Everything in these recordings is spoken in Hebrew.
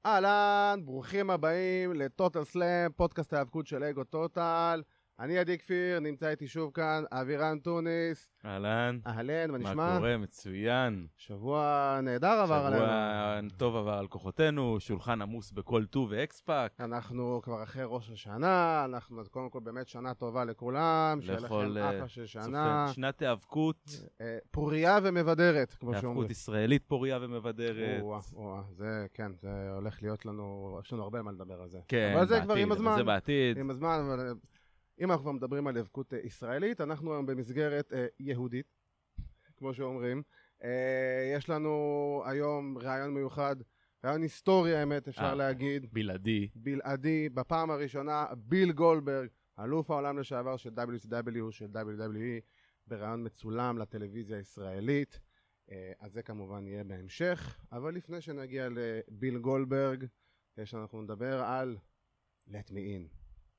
אהלן, ברוכים הבאים לטוטל סלאם, פודקאסט ההיאבקות של אגו טוטל. אני עדי כפיר, נמצא איתי שוב כאן, אבירן טוניס. אהלן. אהלן, מה נשמע? מה קורה? מצוין. שבוע נהדר עבר עלינו. שבוע טוב עבר על כוחותינו, שולחן עמוס בכל טוב ואקספאק. אנחנו כבר אחרי ראש השנה, אנחנו קודם כל באמת שנה טובה לכולם, שיהיה לכם אחלה של שנה. שנת היאבקות. פוריה ומבדרת, כמו שאומרים. היאבקות ישראלית פוריה ומבדרת. זה, כן, זה הולך להיות לנו, יש לנו הרבה מה לדבר על זה. כן, אבל זה כבר עם הזמן. זה בעתיד. עם הזמן, אבל אם אנחנו מדברים על היאבקות ישראלית, אנחנו היום במסגרת יהודית, כמו שאומרים. יש לנו היום רעיון מיוחד, רעיון היסטורי האמת, אפשר להגיד. בלעדי, בפעם הראשונה, ביל גולדברג, אלוף העולם לשעבר של WCW, של WWE, ברעיון מצולם לטלוויזיה הישראלית. אז זה כמובן יהיה בהמשך, אבל לפני שנגיע לביל גולדברג, אנחנו נדבר על Let Me In.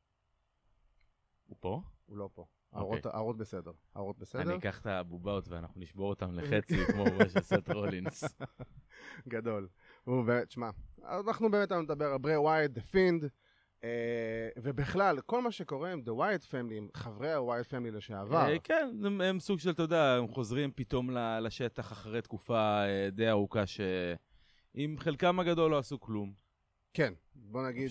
הוא פה? הוא לא פה. הערות בסדר. אני אקח את הבובות ואנחנו נשבור אותם לחצי כמו של סט רולינס. גדול. תשמע, אנחנו באמת נדבר על ברי ווייט, The Fiend, ובכלל, כל מה שקורה עם The Wyatt Family, עם חברי ה-Wyatt Family לשעבר. כן, הם סוג של, אתה יודע, הם חוזרים פתאום לשטח אחרי תקופה די ארוכה שעם חלקם הגדול לא עשו כלום. כן, בוא נגיד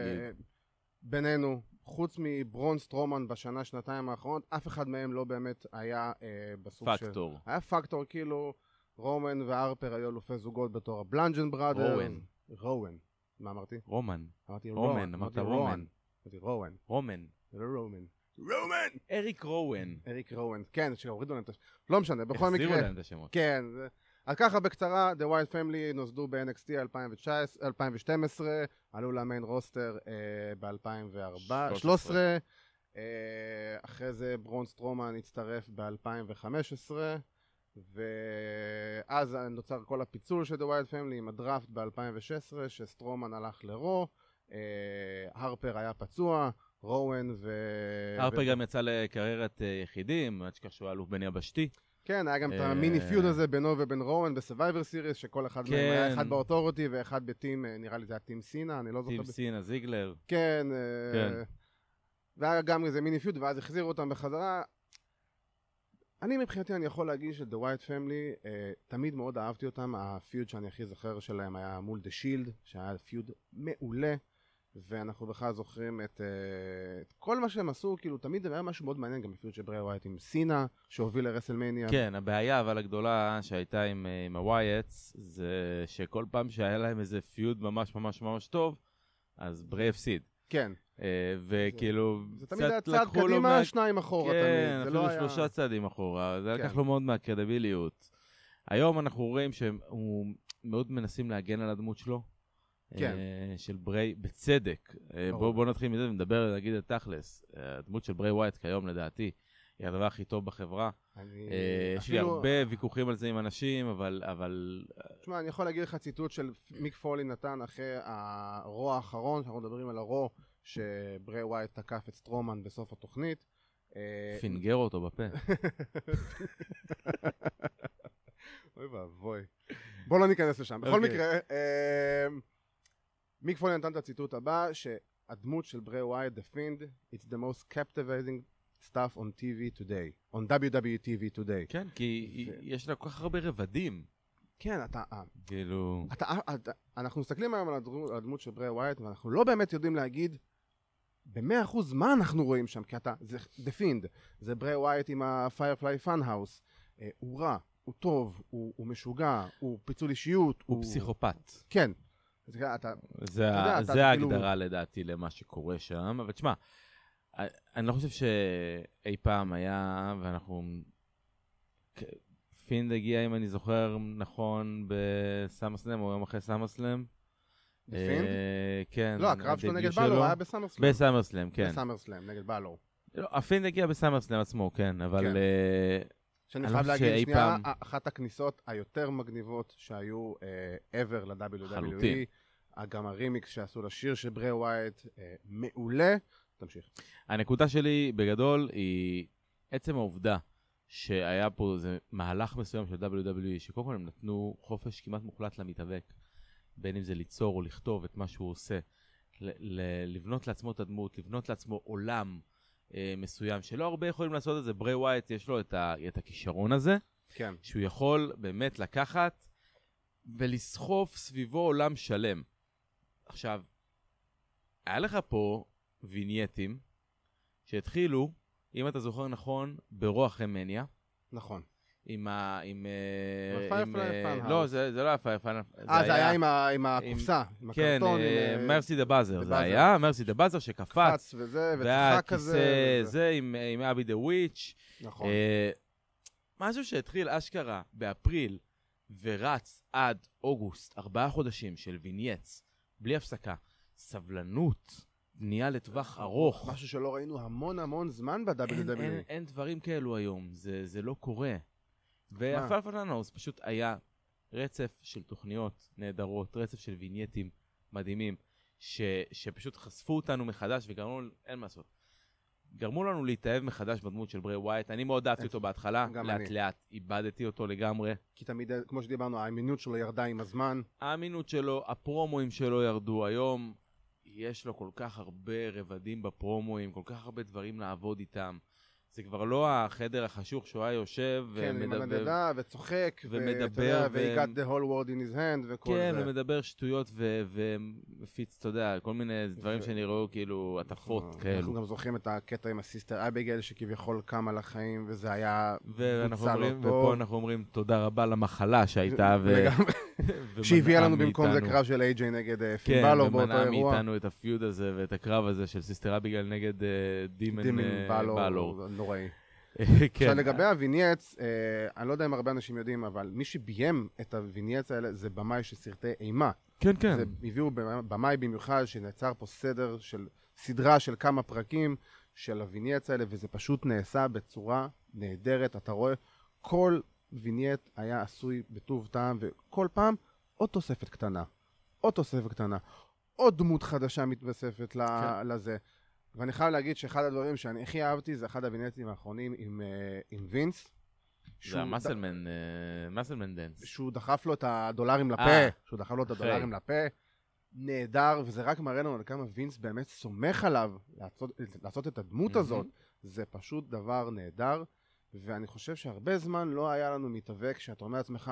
שבינינו, חוץ מברון סטרומן בשנה, שנתיים האחרונות, אף אחד מהם לא באמת היה בסוג של... פקטור. היה פקטור, כאילו, רומן והרפר היו אלופי זוגות בתור הבלנג'ן בראדר. רואן. מה אמרתי? רומן. אמרתי רומן. אמרת רומן. אמרתי רואן. רומן. זה לא רומן. רומן! אריק רואן. אריק רואן. כן, שהורידו להם את השמות. לא משנה, בכל מקרה. החזירו להם את השמות. כן. אז ככה בקצרה, The Wyatt Family נוסדו ב-NXT 2012, עלו למיין רוסטר ב-2013, אחרי זה ברון סטרומן הצטרף ב-2015, ואז נוצר כל הפיצול של The Wyatt Family עם הדראפט ב-2016, שסטרומן הלך לרו, הרפר היה פצוע, רואן הרפר גם יצא לקריירת יחידים, עד שכך שהוא אלוף בין יבשתי. כן, היה גם את המיני פיוד הזה בינו ובין רואן בסרווייבר סיריס, שכל אחד מהם היה אחד באוטוריטי ואחד בטים, נראה לי זה היה טים סינה, אני לא זוכר. טים סינה, זיגלר. כן, והיה גם איזה מיני פיוד, ואז החזירו אותם בחזרה. אני מבחינתי אני יכול להגיד של The Wyatt Family, תמיד מאוד אהבתי אותם, הפיוד שאני הכי זוכר שלהם היה מול The Shield, שהיה פיוד מעולה. ואנחנו בכלל זוכרים את כל מה שהם עשו, כאילו תמיד היה משהו מאוד מעניין, גם בפיוט של ברי ווייט עם סינה, שהוביל לרסלמניה. כן, הבעיה אבל הגדולה שהייתה עם הווייטס, זה שכל פעם שהיה להם איזה פיוד ממש ממש ממש טוב, אז ברי הפסיד. כן. וכאילו, זה תמיד היה צעד קדימה, שניים אחורה תמיד. כן, אפילו 3 צעדים אחורה, זה לקח לו מאוד מהקרדיביליות. היום אנחנו רואים שהוא מאוד מנסים להגן על הדמות שלו. כן. של ברי, בצדק. בואו נתחיל מזה ונדבר, נגיד את תכלס. הדמות של ברי ווייט כיום לדעתי היא הדבר הכי טוב בחברה. יש לי הרבה ויכוחים על זה עם אנשים, אבל... תשמע, אני יכול להגיד לך ציטוט של מיק פולי נתן אחרי הרו האחרון, שאנחנו מדברים על הרו, שברי ווייט תקף את סטרומן בסוף התוכנית. פינגר אותו בפה. אוי ואבוי. בואו לא ניכנס לשם. בכל מקרה... מיק פולי נתן את הציטוט הבא, שהדמות של ברי ווייט, The Fiend, it's the most captivating stuff on TV today, on WWE today. כן, כי יש לה כל כך הרבה רבדים. כן, כאילו... אנחנו מסתכלים היום על הדמות של ברי ווייט, ואנחנו לא באמת יודעים להגיד ב-100% מה אנחנו רואים שם, כי זה The Fiend, זה ברי ווייט עם ה-Firefly Funhouse, הוא רע, הוא טוב, הוא משוגע, הוא פיצול אישיות, הוא פסיכופת. כן. זה ההגדרה לדעתי למה שקורה שם, אבל תשמע, אני לא חושב שאי פעם היה, ואנחנו... פינד הגיע, אם אני זוכר נכון, בסאמרסלם, או יום אחרי סאמרסלם. פינד? כן. לא, הקרב שלו נגד בלור היה בסאמרסלם. בסאמרסלם, כן. בסאמרסלם, נגד בלור. לא, הפינד הגיע בסאמרסלם עצמו, כן, אבל... שאני חייב להגיד שנייה, אחת הכניסות היותר מגניבות שהיו ever ל-WWE, גם הרימיקס שעשו לשיר של ברי ווייט, מעולה. תמשיך. הנקודה שלי בגדול היא עצם העובדה שהיה פה איזה מהלך מסוים של WWE, שקודם כל הם נתנו חופש כמעט מוחלט למתאבק. בין אם זה ליצור או לכתוב את מה שהוא עושה, לבנות לעצמו את הדמות, לבנות לעצמו עולם מסוים, שלא הרבה יכולים לעשות את זה. ברי ווייט יש לו את הכישרון הזה, כן. שהוא יכול באמת לקחת ולסחוף סביבו עולם שלם. עכשיו, היה לך פה וינייטים שהתחילו, אם אתה זוכר נכון, ברוח מניה. נכון. עם פיירפליי. לא, זה לא היה פיירפליי. זה היה עם הקופסה, עם הקרטון. כן, מרסי דה באזר. זה היה מרסי דה באזר שקפץ. וזה, וצחק כזה. זה עם אבי דה וויץ'. נכון. משהו שהתחיל אשכרה באפריל, ורץ עד אוגוסט, 4 חודשים של וינייטס, בלי הפסקה. סבלנות, בנייה לטווח ארוך. משהו שלא ראינו המון זמן ב-WWE. אין דברים כאלו היום, זה לא קורה. והפלפלנוס פשוט היה רצף של תוכניות נהדרות, רצף של וינייטים מדהימים, שפשוט חשפו אותנו מחדש וגרמו, אין מה לעשות. גרמו לנו להתאהב מחדש בדמות של ברי ווייט. אני מאוד אהבתי אותו בהתחלה, לאט איבדתי אותו לגמרי. כי תמיד, כמו שדיברנו, האמינות שלו ירדה עם הזמן. האמינות שלו, הפרומואים שלו ירדו. היום יש לו כל כך הרבה רבדים בפרומואים, כל כך הרבה דברים לעבוד איתם. זה כבר לא החדר החשוך שהוא היה יושב כן, עם הנדדה וצוחק ומדבר ו-he got the whole world in his hand וכל זה. כן, ומדבר שטויות ומפיץ, אתה יודע, כל מיני דברים שנראו כאילו עטפות כאלו. אנחנו גם זוכרים את הקטע עם הסיסטר אביגייל שכביכול קם על החיים, וזה היה ופה אנחנו אומרים תודה רבה למחלה שהייתה שהביאה לנו במקום זה קרב של AJ נגד פין בלור באותו אירוע. כן, ומנע מאיתנו את הפיוד הזה ואת הקרב הזה של סיסטר אביגייל נגד דימן בלור. נוראי. עכשיו לגבי הווינייטס, אני לא יודע אם הרבה אנשים יודעים, אבל מי שביים את הווינייטס האלה זה במאי של סרטי אימה. כן, כן. זה הביאו במאי במיוחד שנעצר פה סדרה של כמה פרקים של הווינייטס האלה, וזה פשוט נעשה בצורה נהדרת. אתה רואה, כל וינייט היה עשוי בטוב טעם, וכל פעם עוד תוספת קטנה, עוד דמות חדשה מתווספת לזה. ואני חייב להגיד שאחד הדברים שאני הכי אהבתי זה אחד הווינייטים האחרונים עם וינס. זה המסלמן דנס. שהוא דחף לו את הדולרים לפה. נהדר, וזה רק מראה לנו על כמה וינס באמת סומך עליו לעשות את הדמות הזאת. זה פשוט דבר נהדר, ואני חושב שהרבה זמן לא היה לנו מתאבק שאתה אומר לעצמך,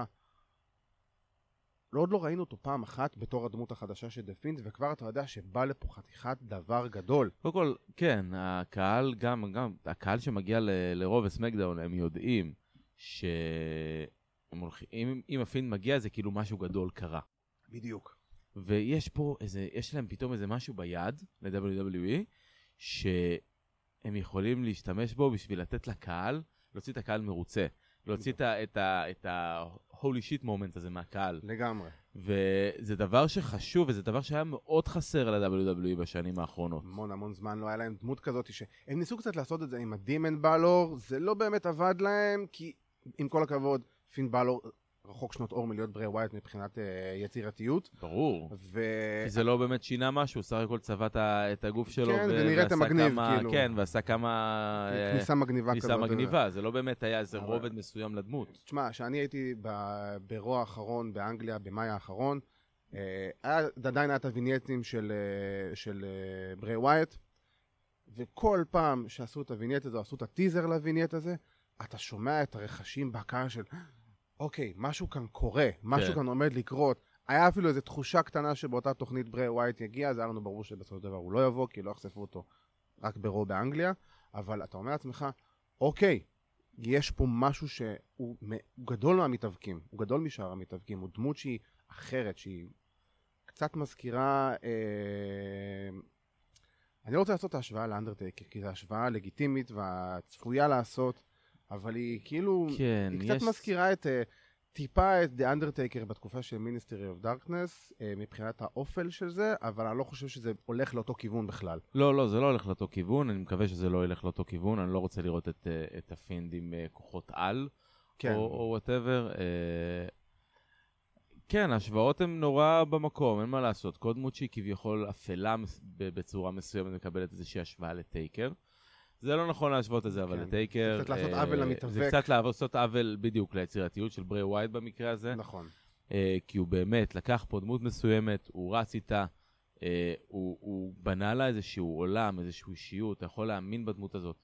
עוד לא ראינו אותו פעם אחת בתור הדמות החדשה של דה פינד, וכבר אתה יודע שבא לפה חתיכת דבר גדול. קודם כל, כן, הקהל, גם הקהל שמגיע לרוב וסמקדאון, הם יודעים שאם הפינד מגיע זה כאילו משהו גדול קרה. בדיוק. ויש פה יש להם פתאום איזה משהו ביד ל-WWE, שהם יכולים להשתמש בו בשביל לתת לקהל, להוציא את הקהל מרוצה. להוציא את ה-holy shit moment הזה מהקהל. לגמרי. וזה דבר שחשוב, וזה דבר שהיה מאוד חסר ל-WWE בשנים האחרונות. המון זמן לא היה להם דמות כזאת, שהם ניסו קצת לעשות את זה עם הדימן בלור, זה לא באמת עבד להם, כי עם כל הכבוד, פין בלור רחוק שנות אור מלהיות ברי ווייט מבחינת יצירתיות. ברור. כי זה לא באמת שינה משהו, סך הכל צבט את הגוף שלו. כן, ונראית המגניב, כאילו. כן, ועשה כמה... כניסה מגניבה כזאת. כניסה מגניבה, זה לא באמת היה איזה רובד מסוים לדמות. תשמע, שאני הייתי ברוע האחרון באנגליה, במאי האחרון, עדיין היה את הווינייטים של ברי ווייט, וכל פעם שעשו את הווינייט הזה, עשו את הטיזר לווינייט הזה, אתה שומע את הרכשים בקהל של... אוקיי, משהו כאן קורה, משהו כאן עומד לקרות. היה אפילו איזו תחושה קטנה שבאותה תוכנית ברי ווייט יגיע, זה היה לנו ברור שבסופו של דבר הוא לא יבוא, כי לא יחשפו אותו רק ברו באנגליה, אבל אתה אומר לעצמך, אוקיי, יש פה משהו שהוא גדול מהמתאבקים, הוא גדול משאר המתאבקים, הוא דמות שהיא אחרת, שהיא קצת מזכירה... אני לא רוצה לעשות את ההשוואה לאנדרטייקר, כי זו השוואה לגיטימית והצפויה לעשות, אבל היא כאילו, היא קצת מזכירה טיפה את The Undertaker בתקופה של Ministry of Darkness, מבחינת האופל של זה, אבל אני לא חושב שזה הולך לאותו כיוון בכלל. לא, זה לא הולך לאותו כיוון, אני מקווה שזה לא הולך לאותו כיוון, אני לא רוצה לראות את הפינד עם כוחות על, או whatever. כן, ההשוואות הן נורא במקום, אין מה לעשות. כל דמות שהיא כביכול אפלה בצורה מסוימת מקבלת איזושהי השוואה לטייקר. זה לא נכון להשוות את זה, אבל לטייקר... זה קצת לעשות עוול למתאבק. זה קצת לעשות עוול בדיוק ליצירתיות של ברי ווייט במקרה הזה. נכון. כי הוא באמת לקח פה דמות מסוימת, הוא רץ איתה, הוא בנה לה איזשהו עולם, איזשהו אישיות, אתה יכול להאמין בדמות הזאת.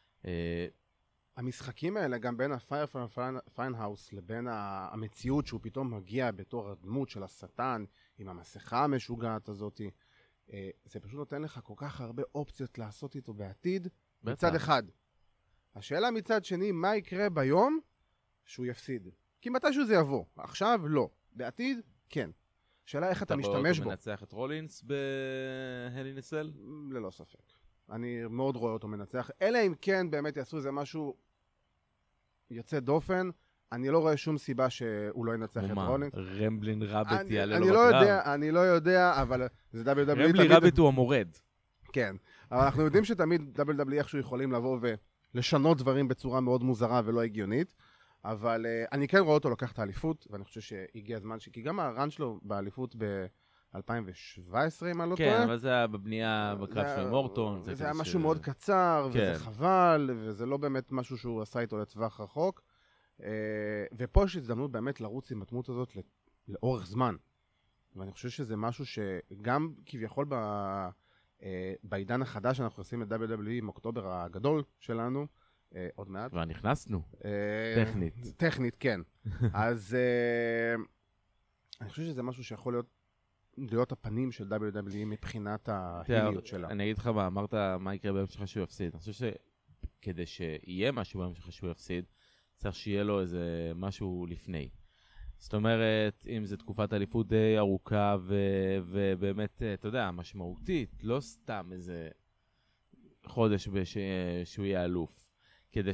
המשחקים האלה, גם בין ה-Firefly Funhouse לבין המציאות שהוא פתאום מגיע בתור הדמות של השטן, עם המסכה המשוגעת הזאת, זה פשוט נותן לך כל כך הרבה אופציות לעשות איתו בעתיד, מצד אחד. השאלה מצד שני, מה יקרה ביום שהוא יפסיד? כי מתישהו זה יבוא, עכשיו לא, בעתיד כן. שאלה איך אתה משתמש בו. אתה מנצח את רולינס בהלינסל? ללא ספק. אני מאוד רואה אותו מנצח, אלא אם כן באמת יעשו איזה משהו יוצא דופן, אני לא רואה שום סיבה שהוא לא ינצח את רולינס. רמבלין רביט יעלה לו בקרב? אני לא יודע, אבל זה WWE תמיד... רמבלין רביט הוא המורד. כן, אבל אנחנו יודעים שתמיד WWE איכשהו יכולים לבוא ולשנות דברים בצורה מאוד מוזרה ולא הגיונית, אבל אני כן רואה אותו לוקח את האליפות, ואני חושב שהגיע הזמן כי גם הרן שלו באליפות ב-2017, אם אני לא טועה. כן, אבל זה היה בבנייה בקרב של מורטון. זה היה משהו מאוד קצר, וזה חבל, וזה לא באמת משהו שהוא עשה איתו לטווח רחוק. ופה יש הזדמנות באמת לרוץ עם הדמות הזאת לאורך זמן. ואני חושב שזה משהו שגם כביכול בעידן החדש שאנחנו עושים את WWE עם אוקטובר הגדול שלנו, עוד מעט. כבר נכנסנו, טכנית. טכנית, כן. אז אני חושב שזה משהו שיכול להיות הפנים של WWE מבחינת ההיליות שלה. אני אגיד לך מה, אמרת מה יקרה ביום שלך שהוא יפסיד. אני חושב שכדי שיהיה משהו ביום שלך שהוא יפסיד, צריך שיהיה לו איזה משהו לפני. זאת אומרת, אם זו תקופת אליפות די ארוכה ובאמת, אתה יודע, משמעותית, לא סתם איזה חודש שהוא יהיה אלוף. כדי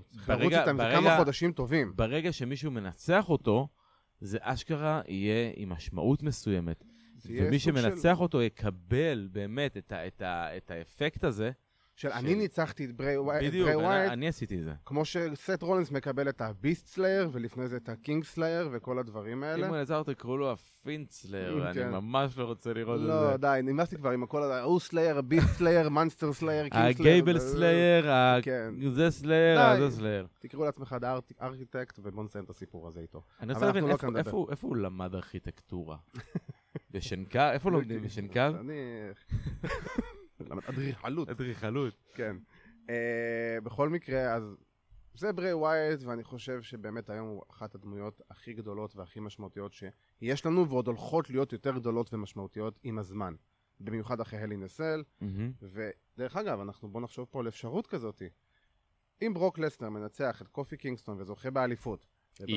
כמה חודשים טובים. ברגע שמישהו מנצח אותו, זה אשכרה יהיה עם משמעות מסוימת. ומי שמנצח אותו יקבל באמת את האפקט הזה. של אני ניצחתי את ברי ווייט. בדיוק, אני עשיתי את זה. כמו שסט רולינס מקבל את הביסט סלייר, ולפני זה את הקינג סלייר, וכל הדברים האלה. אם הוא נעזר, תקראו לו הפינט סלייר, ואני ממש לא רוצה לראות את זה. לא, די, נמאסתי כבר עם הכל, הוא סלייר, הביסט סלייר, מונסטר סלייר, קינג סלייר. הגייבל סלייר, זה סלייר, זה סלייר. תקראו לעצמך ארכיטקט, ובוא נסיים את הסיפור הזה איתו. אני רוצה להבין, איפה הוא למד ארכיטקטורה? בשנקר? איפה לומדים? בשנקר? אדריכלות. אדריכלות. כן. בכל מקרה, אז זה ברי ווייט, ואני חושב שבאמת היום הוא אחת הדמויות הכי גדולות והכי משמעותיות שיש לנו, ועוד הולכות להיות יותר גדולות ומשמעותיות עם הזמן. במיוחד אחרי הל אין א סל. ודרך אגב, בוא נחשוב פה על אפשרות כזאת. אם ברוק לסנר מנצח את קופי קינגסטון וזוכה באליפות,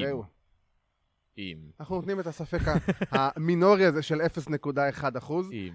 אנחנו נותנים את הספק המינורי הזה של 0.1%.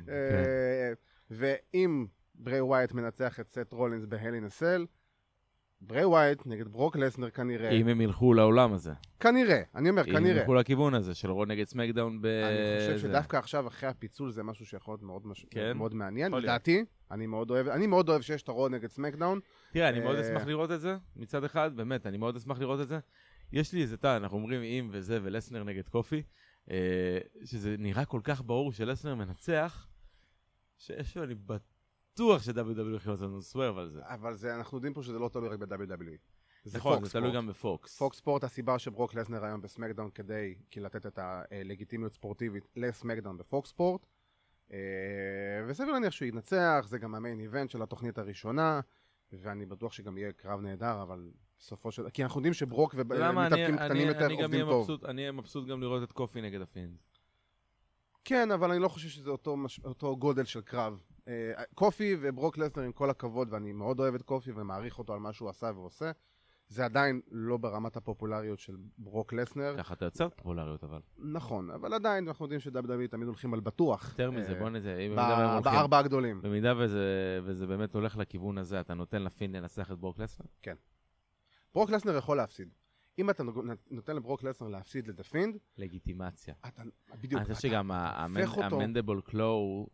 ואם ברי ווייט מנצח את סט רולינס בהל אין א סל, ברי ווייט נגד ברוק לסנר כנראה... אם הם ילכו לעולם הזה. כנראה, אני אומר כנראה. אם הם ילכו לכיוון הזה של רו נגד סמקדאון אני חושב שדווקא עכשיו אחרי הפיצול זה משהו שיכול להיות מאוד מעניין. לדעתי, אני מאוד אוהב שיש את הרו נגד סמקדאון. תראה, אני מאוד אשמח לראות את זה, מצד אחד, באמת, אני מאוד אשמח לראות את זה. יש לי איזה אנחנו אומרים אם וזה ולסנר נגד קופי, שזה נראה כל כך ברור שלסנר מנצח, שאיזשהו אני בטוח ש-WWE הולכים לעשות לנו סוורב על זה. אבל אנחנו יודעים פה שזה לא תלוי רק ב-WWE. נכון, זה תלוי גם בפוקס. פוקס ספורט, הסיבה שברוק לסנר היום בסמקדאון כדי לתת את הלגיטימיות ספורטיבית לסמקדאון בפוקס ספורט. וסביר להניח שהוא ינצח, זה גם המיין איבנט של התוכנית הראשונה, ואני בטוח שגם יהיה קרב נהדר, אבל בסופו של... כי אנחנו יודעים שברוק ומתאבקים קטנים יותר עובדים טוב. אני אהיה מבסוט גם לראות את קופי נגד הפינד. כן, אבל אני לא חושב שזה אותו גודל של קרב. קופי וברוק לסנר עם כל הכבוד, ואני מאוד אוהב את קופי ומעריך אותו על מה שהוא עשה ועושה, זה עדיין לא ברמת הפופולריות של ברוק לסנר. ככה אתה יוצר פופולריות אבל. נכון, אבל עדיין אנחנו יודעים ש-WWE תמיד הולכים על בטוח. יותר מזה, בוא נזה. בארבע הגדולים. במידה וזה באמת הולך לכיוון הזה, אתה נותן לפין לנסח את ברוק לסנר? כן. ברוק לסנר יכול להפסיד. אם אתה נותן לברוק לסנר להפסיד לדפינד... לגיטימציה. בדיוק. אני חושב שגם המנדבל קלואו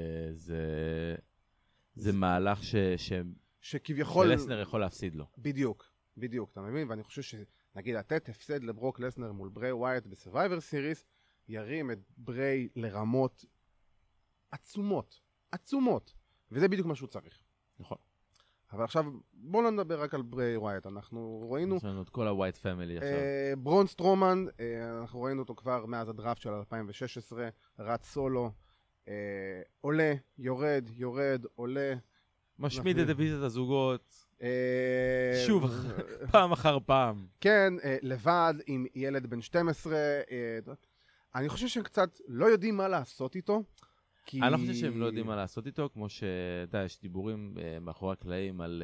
זה מהלך שכביכול... שלסנר יכול להפסיד לו. בדיוק, אתה מבין? ואני חושב שנגיד לתת הפסד לברוק לסנר מול ברי ווייט בסרווייבר סיריס, ירים את ברי לרמות עצומות. וזה בדיוק מה שהוא צריך. נכון. אבל עכשיו, בואו לא נדבר רק על ברי ווייט, אנחנו ראינו... יש לנו את כל הווייט פמילי עכשיו. ברון סטרומן, אנחנו ראינו אותו כבר מאז הדראפט של 2016, רץ סולו, עולה, יורד, עולה. משמיד את דיוויזיית הזוגות, שוב, פעם אחר פעם. כן, לבד, עם ילד בן 12, אני חושב שהם קצת לא יודעים מה לעשות איתו. אני לא חושב שהם לא יודעים מה לעשות איתו, כמו שאתה יש דיבורים מאחורי הקלעים על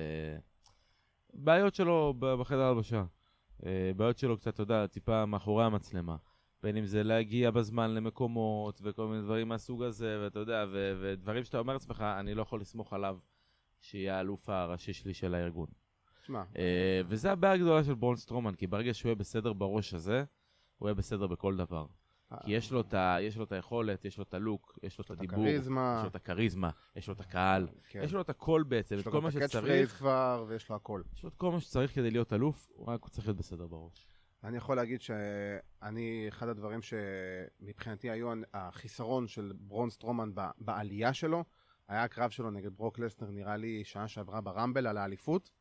בעיות שלו בחדר הלבשה. בעיות שלו קצת, אתה יודע, טיפה מאחורי המצלמה. בין אם זה להגיע בזמן למקומות וכל מיני דברים מהסוג הזה, ואתה יודע, ודברים שאתה אומר לעצמך, אני לא יכול לסמוך עליו שיהיה האלוף הראשי שלי של הארגון. שמה. וזה הבעיה הגדולה של ברון סטרומן, כי ברגע שהוא יהיה בסדר בראש הזה, הוא יהיה בסדר בכל דבר. כי יש לו את היכולת, יש לו את הלוק, יש לו את הדיבור, יש לו את הכריזמה, יש לו את הקהל, יש לו את הכל בעצם, את כל מה שצריך. יש לו את הקאץ' פרייז כבר, ויש לו הכל. יש לו את כל מה שצריך כדי להיות אלוף, הוא רק צריך להיות בסדר בראש. אני יכול להגיד שאני, אחד הדברים שמבחינתי היו החיסרון של ברון סטרומן בעלייה שלו, היה הקרב שלו נגד ברוק לסנר, נראה לי שעה שעברה ברמבל על האליפות,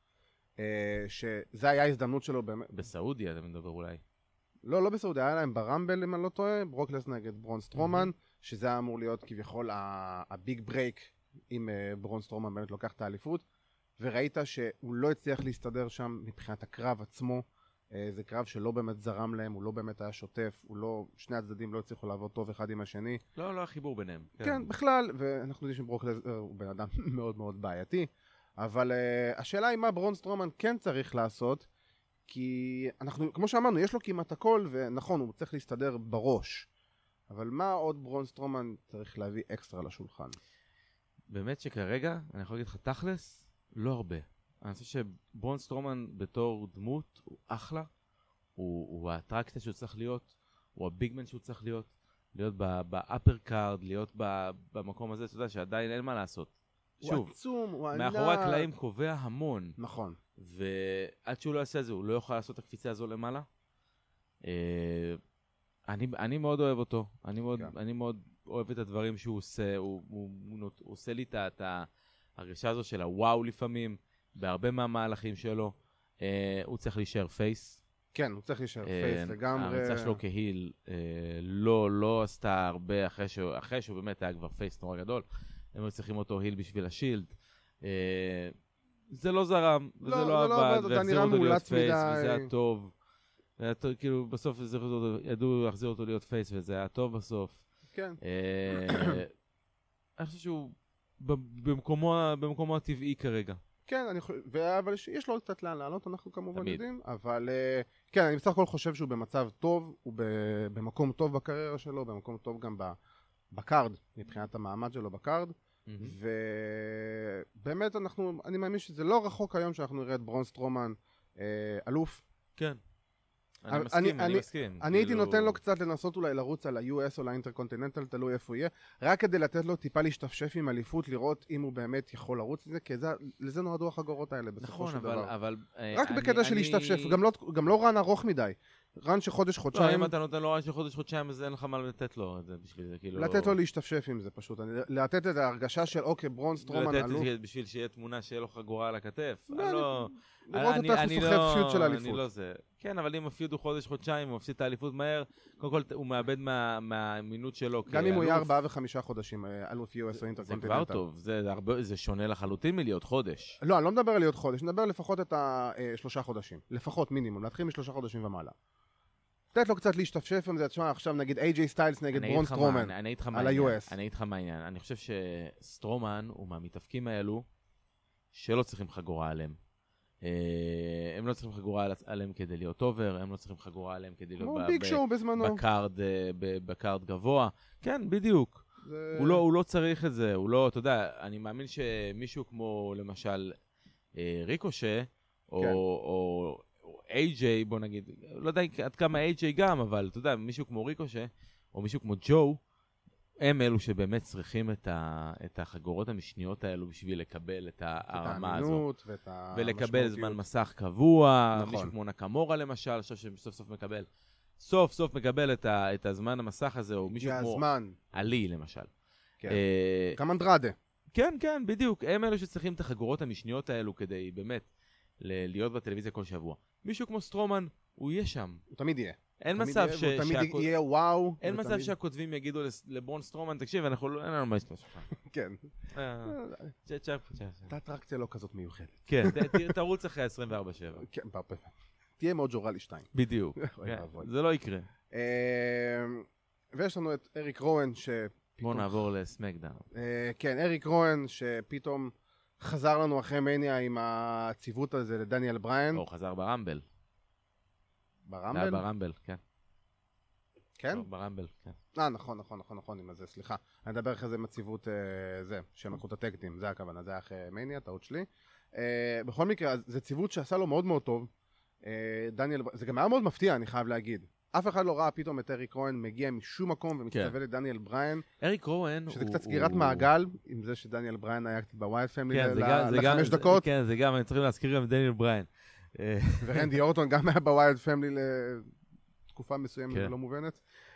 שזה היה הזדמנות שלו באמת. בסעודיה אתה מדבר אולי. לא בסעודיה, היה להם ברמבל אם אני לא טועה, ברוק לסנר נגד ברון סטרומן, שזה היה אמור להיות כביכול הביג ברייק, אם ברון סטרומן באמת לוקח את האליפות, וראית שהוא לא הצליח להסתדר שם מבחינת הקרב עצמו, זה קרב שלא באמת זרם להם, הוא לא באמת היה שוטף, שני הצדדים לא הצליחו לעבוד טוב אחד עם השני. לא החיבור ביניהם. כן, בכלל, ואנחנו יודעים שברוק לסנר הוא בן אדם מאוד מאוד בעייתי, אבל השאלה היא מה ברון סטרומן כן צריך לעשות, כי אנחנו, כמו שאמרנו, יש לו כמעט הכל, ונכון, הוא צריך להסתדר בראש. אבל מה עוד ברון סטרומן צריך להביא אקסטרה לשולחן? באמת שכרגע, אני יכול להגיד לך תכלס, לא הרבה. אני חושב שברון סטרומן בתור דמות הוא אחלה, הוא האטרקציה שהוא צריך להיות, הוא הביגמן שהוא צריך להיות באפר קארד, להיות במקום הזה, אתה יודע שעדיין אין מה לעשות. הוא עצום, הוא ענק. מאחורי הקלעים קובע המון. נכון. ועד שהוא לא יעשה את זה, הוא לא יוכל לעשות את הקפיצה הזו למעלה. אני מאוד אוהב אותו. אני מאוד אוהב את הדברים שהוא עושה. הוא עושה לי את ההרגשה הזו של הוואו לפעמים, בהרבה מהמהלכים שלו. הוא צריך להישאר פייס. כן, הוא צריך להישאר פייס לגמרי. ההרצאה שלו כהיל לא עשתה הרבה אחרי שהוא באמת היה כבר פייס נורא גדול. הם צריכים אותו היל בשביל השילד. זה לא זרם, וזה לא עבד, והחזיר אותו להיות פייס, וזה היה טוב. כאילו, בסוף ידעו להחזיר אותו להיות פייס, וזה היה טוב בסוף. כן. אני חושב שהוא במקומו הטבעי כרגע. כן, אבל יש לו קצת לאן לעלות, אנחנו כמובן יודעים, אבל כן, אני בסך הכל חושב שהוא במצב טוב, הוא במקום טוב בקריירה שלו, במקום טוב גם בקארד, מבחינת המעמד שלו בקארד, ובאמת אני מאמין שזה לא רחוק היום שאנחנו נראה את ברון סטרומן אלוף. כן. אני מסכים. אני הייתי נותן לו קצת לנסות אולי לרוץ על ה-US או לאינטרקונטיננטל, תלוי איפה הוא יהיה, רק כדי לתת לו טיפה להשתפשף עם אליפות, לראות אם הוא באמת יכול לרוץ לזה, כי לזה נועדו החגורות האלה בסופו של דבר. נכון, אבל... רק בקטע של להשתפשף, גם לא רן ארוך מדי. רן שחודש-חודשיים... לא, אם אתה נותן לו רן שחודש-חודשיים, אז אין לך מה לתת לו את זה בשביל זה, כאילו... לתת לו להשתפשף עם זה פשוט, לתת את ההרגשה של אוקיי, ברון סטרומן אלוף. לתת בשביל שיהיה תמונה שיהיה לו חגורה על הכתף. לראות אותך הוא סוחב פיוט של האליפות. אני לא זה. כן, אבל אם הפיוט הוא חודש-חודשיים, הוא מפסיד את האליפות מהר, קודם כל הוא מאבד מהאמינות שלו כאלוף. גם אם הוא יהיה 4 ו5 חודשים, אלוף US או אינטרקונטיננטל. זה כבר טוב, זה שונה לחלוטין מלהיות חודש. לא, אני לא מדבר על להיות חודש, אני מדבר לפחות את 3 חודשים. לפחות מינימום, להתחיל מ3 חודשים ומעלה. תת לו קצת להשתפשף עם זה, תשמע, עכשיו נגיד AJ סטיילס נגד ברון סטרומן על ה-US. אני אגיד לך מה העניין, אני חושב שסטרומן הוא מהמתאבקים האלו שלא צריכים חגורה עליהם. הם לא צריכים חגורה עליהם כדי להיות אובר, הם לא צריכים חגורה עליהם כדי להיות בקארד גבוה. כן, בדיוק. הוא לא צריך את זה, הוא לא, אתה יודע, אני מאמין שמישהו כמו למשל ריקושה, או AJ, בוא נגיד, לא יודע עד כמה AJ גם, אבל אתה יודע, מישהו כמו ריקושה, או מישהו כמו ג'ו, הם אלו שבאמת צריכים את החגורות המשניות האלו בשביל לקבל את הרמה הזאת. ולקבל זמן מסך קבוע, נכון. מישהו כמו נקמורה למשל, עכשיו סוף סוף מקבל את הזמן המסך הזה, או מישהו כמו עלי למשל. כן. גם אנדרדה. כן, כן, בדיוק. הם אלו שצריכים את החגורות המשניות האלו כדי באמת להיות בטלוויזיה כל שבוע. מישהו כמו סטרומן, הוא יהיה שם. הוא תמיד יהיה. אין מצב הוא תמיד יהיה וואו. אין מצב שהכותבים יגידו לברון סטרומן, תקשיב, אין לנו מה לשתות שלך. כן. את האטרקציה לא כזאת מיוחדת. כן, תרוץ אחרי 24/7. כן, תהיה מאוד ג'ורלי 2. בדיוק. זה לא יקרה. ויש לנו את אריק רואן בואו נעבור לסמקדאון. כן, אריק רואן שפתאום חזר לנו אחרי מניה עם הציוות הזה לדניאל בריין. הוא חזר ברמבל. ברמבל? ברמבל, כן. כן? ברמבל, כן. נכון, עם הזה, סליחה. אני אדבר אחרי זה עם הציוות זה, שהם לקחו את הטקטים, זה הכוונה, זה היה אחרי מניה, טעות שלי. בכל מקרה, זה ציוות שעשה לו מאוד מאוד טוב. דניאל, זה גם היה מאוד מפתיע, אני חייב להגיד. אף אחד לא ראה פתאום את אריק רואן מגיע משום מקום ומצטווה לדניאל בריין. אריק רואן שזה קצת סגירת מעגל, עם זה שדניאל בריין היה קצת בווייד פמילי ל5 דקות. כן, זה גם, אני צריכים להזכיר גם את דניאל בריין. ורנדי אורטון גם היה בווייד פמילי לתקופה מסוימת ולא מובנת.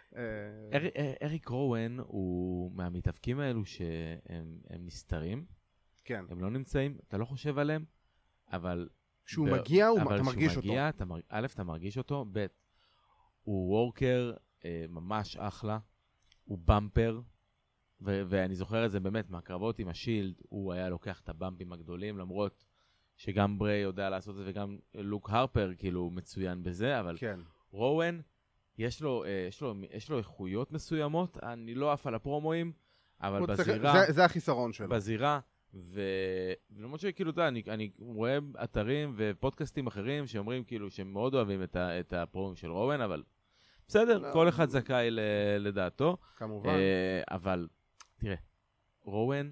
אריק רואן הוא מהמתאבקים האלו שהם נסתרים. כן. הם לא נמצאים, אתה לא חושב עליהם, אבל... כשהוא מגיע, אתה מרגיש אותו. א', אתה מרגיש אותו, ב', הוא וורקר ממש אחלה, הוא במפר, ואני זוכר את זה באמת מהקרבות עם השילד, הוא היה לוקח את הבמפים הגדולים, למרות שגם ברי יודע לעשות את זה, וגם לוק הרפר כאילו מצוין בזה, אבל כן. רואן, יש לו איכויות מסוימות, אני לא עף על הפרומואים, אבל בזירה... זה החיסרון שלו. בזירה, ולמרות שכאילו, אני רואה אתרים ופודקאסטים אחרים שאומרים כאילו שהם מאוד אוהבים את הפרומים של רואן, אבל בסדר, כל אחד זכאי לדעתו. כמובן. אבל תראה, רואן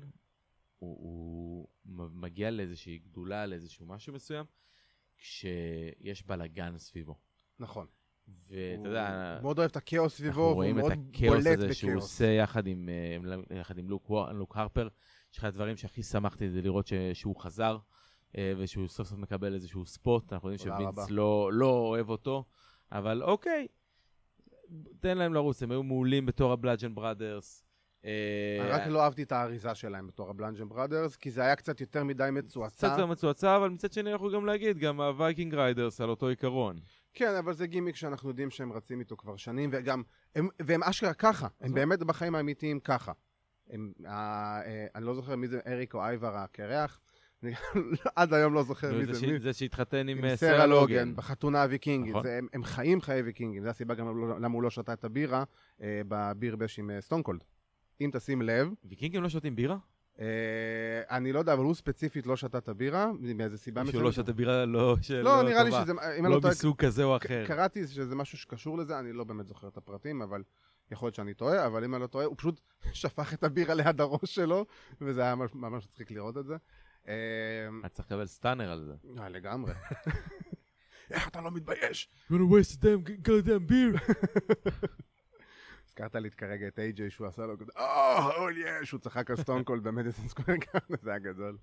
הוא מגיע לאיזושהי גדולה, לאיזשהו משהו מסוים, כשיש בלגן סביבו. נכון. ואתה יודע... מאוד אוהב את הכאוס סביבו, והוא מאוד בולט בכאוס. אנחנו רואים את הכאוס הזה שהוא עושה יחד עם לוק הרפר. שאחד הדברים שהכי שמחתי זה לראות שהוא חזר, ושהוא סוף סוף מקבל איזשהו ספוט. אנחנו יודעים שווינס לא אוהב אותו, אבל אוקיי, תן להם לרוץ, הם היו מעולים בתור הבלאג'ן בראדרס. אני רק לא אהבתי את האריזה שלהם בתור הבלאג'ן בראדרס, כי זה היה קצת יותר מדי מצועצע. קצת יותר מצועצע, אבל מצד שני אנחנו גם להגיד, גם הווייקינג ריידרס על אותו עיקרון. כן, אבל זה גימיק שאנחנו יודעים שהם רצים איתו כבר שנים, והם אשכרה ככה, הם באמת בחיים האמיתיים ככה. אני לא זוכר מי זה אריק או אייבר הקרח, עד היום לא זוכר מי זה. זה שהתחתן עם סרה לוגן בחתונה הוויקינגית. הם חיים חיי ויקינגים, זה הסיבה גם למה הוא לא שתה את הבירה בביר בש עם סטונקולד. אם תשים לב... ויקינגים לא שותים בירה? אני לא יודע, אבל הוא ספציפית לא שתה את הבירה, מאיזה סיבה מסוימת. שהוא לא שתה בירה לא נראה לי שזה... לא מסוג כזה או אחר. קראתי שזה משהו שקשור לזה, אני לא באמת זוכר את הפרטים, אבל יכול להיות שאני טועה, אבל אם אני לא טועה, הוא פשוט שפך את הבירה ליד הראש שלו, וזה היה ממש מצחיק לראות את זה. אתה צריך לקבל סטאנר על זה. לגמרי. איך אתה לא מתבייש? You wanna waste them goddamn beer? הזכרת לי כרגע את AJ שהוא עשה לו כזה, שהוא צחק על סטונקולד במדיסון סקוואר גארדן, זה היה גדול.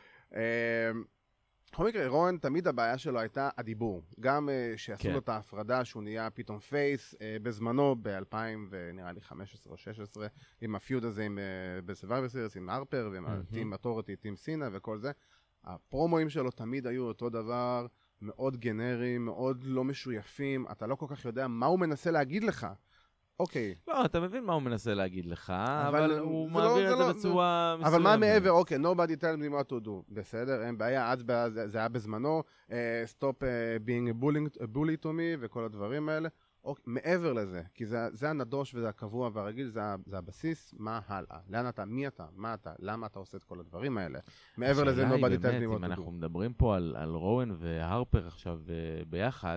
בכל מקרה, רואן, תמיד הבעיה שלו הייתה הדיבור. גם שעשו לו את ההפרדה שהוא נהיה פתאום פייס בזמנו ב-2000 ונראה לי 15 או 16, עם הפיוד הזה בסרווייבר סיריס, עם הרפר ועם הטים אוטוריטי, טים סינה וכל זה. הפרומואים שלו תמיד היו אותו דבר, מאוד גנריים, מאוד לא משויפים, אתה לא כל כך יודע מה הוא מנסה להגיד לך. אוקיי. לא, אתה מבין מה הוא מנסה להגיד לך, אבל הוא מעביר את זה בצורה מסוימת. אבל מה מעבר? אוקיי, nobody tell me what to do. בסדר, אין בעיה, זה היה בזמנו, stop being a bully to me וכל הדברים האלה. מעבר לזה, כי זה הנדוש וזה הקבוע והרגיל, זה הבסיס, מה הלאה? לאן אתה? מי אתה? מה אתה? למה אתה עושה את כל הדברים האלה? מעבר לזה, nobody tell me what to do. אם אנחנו מדברים פה על רואן והרפר עכשיו ביחד,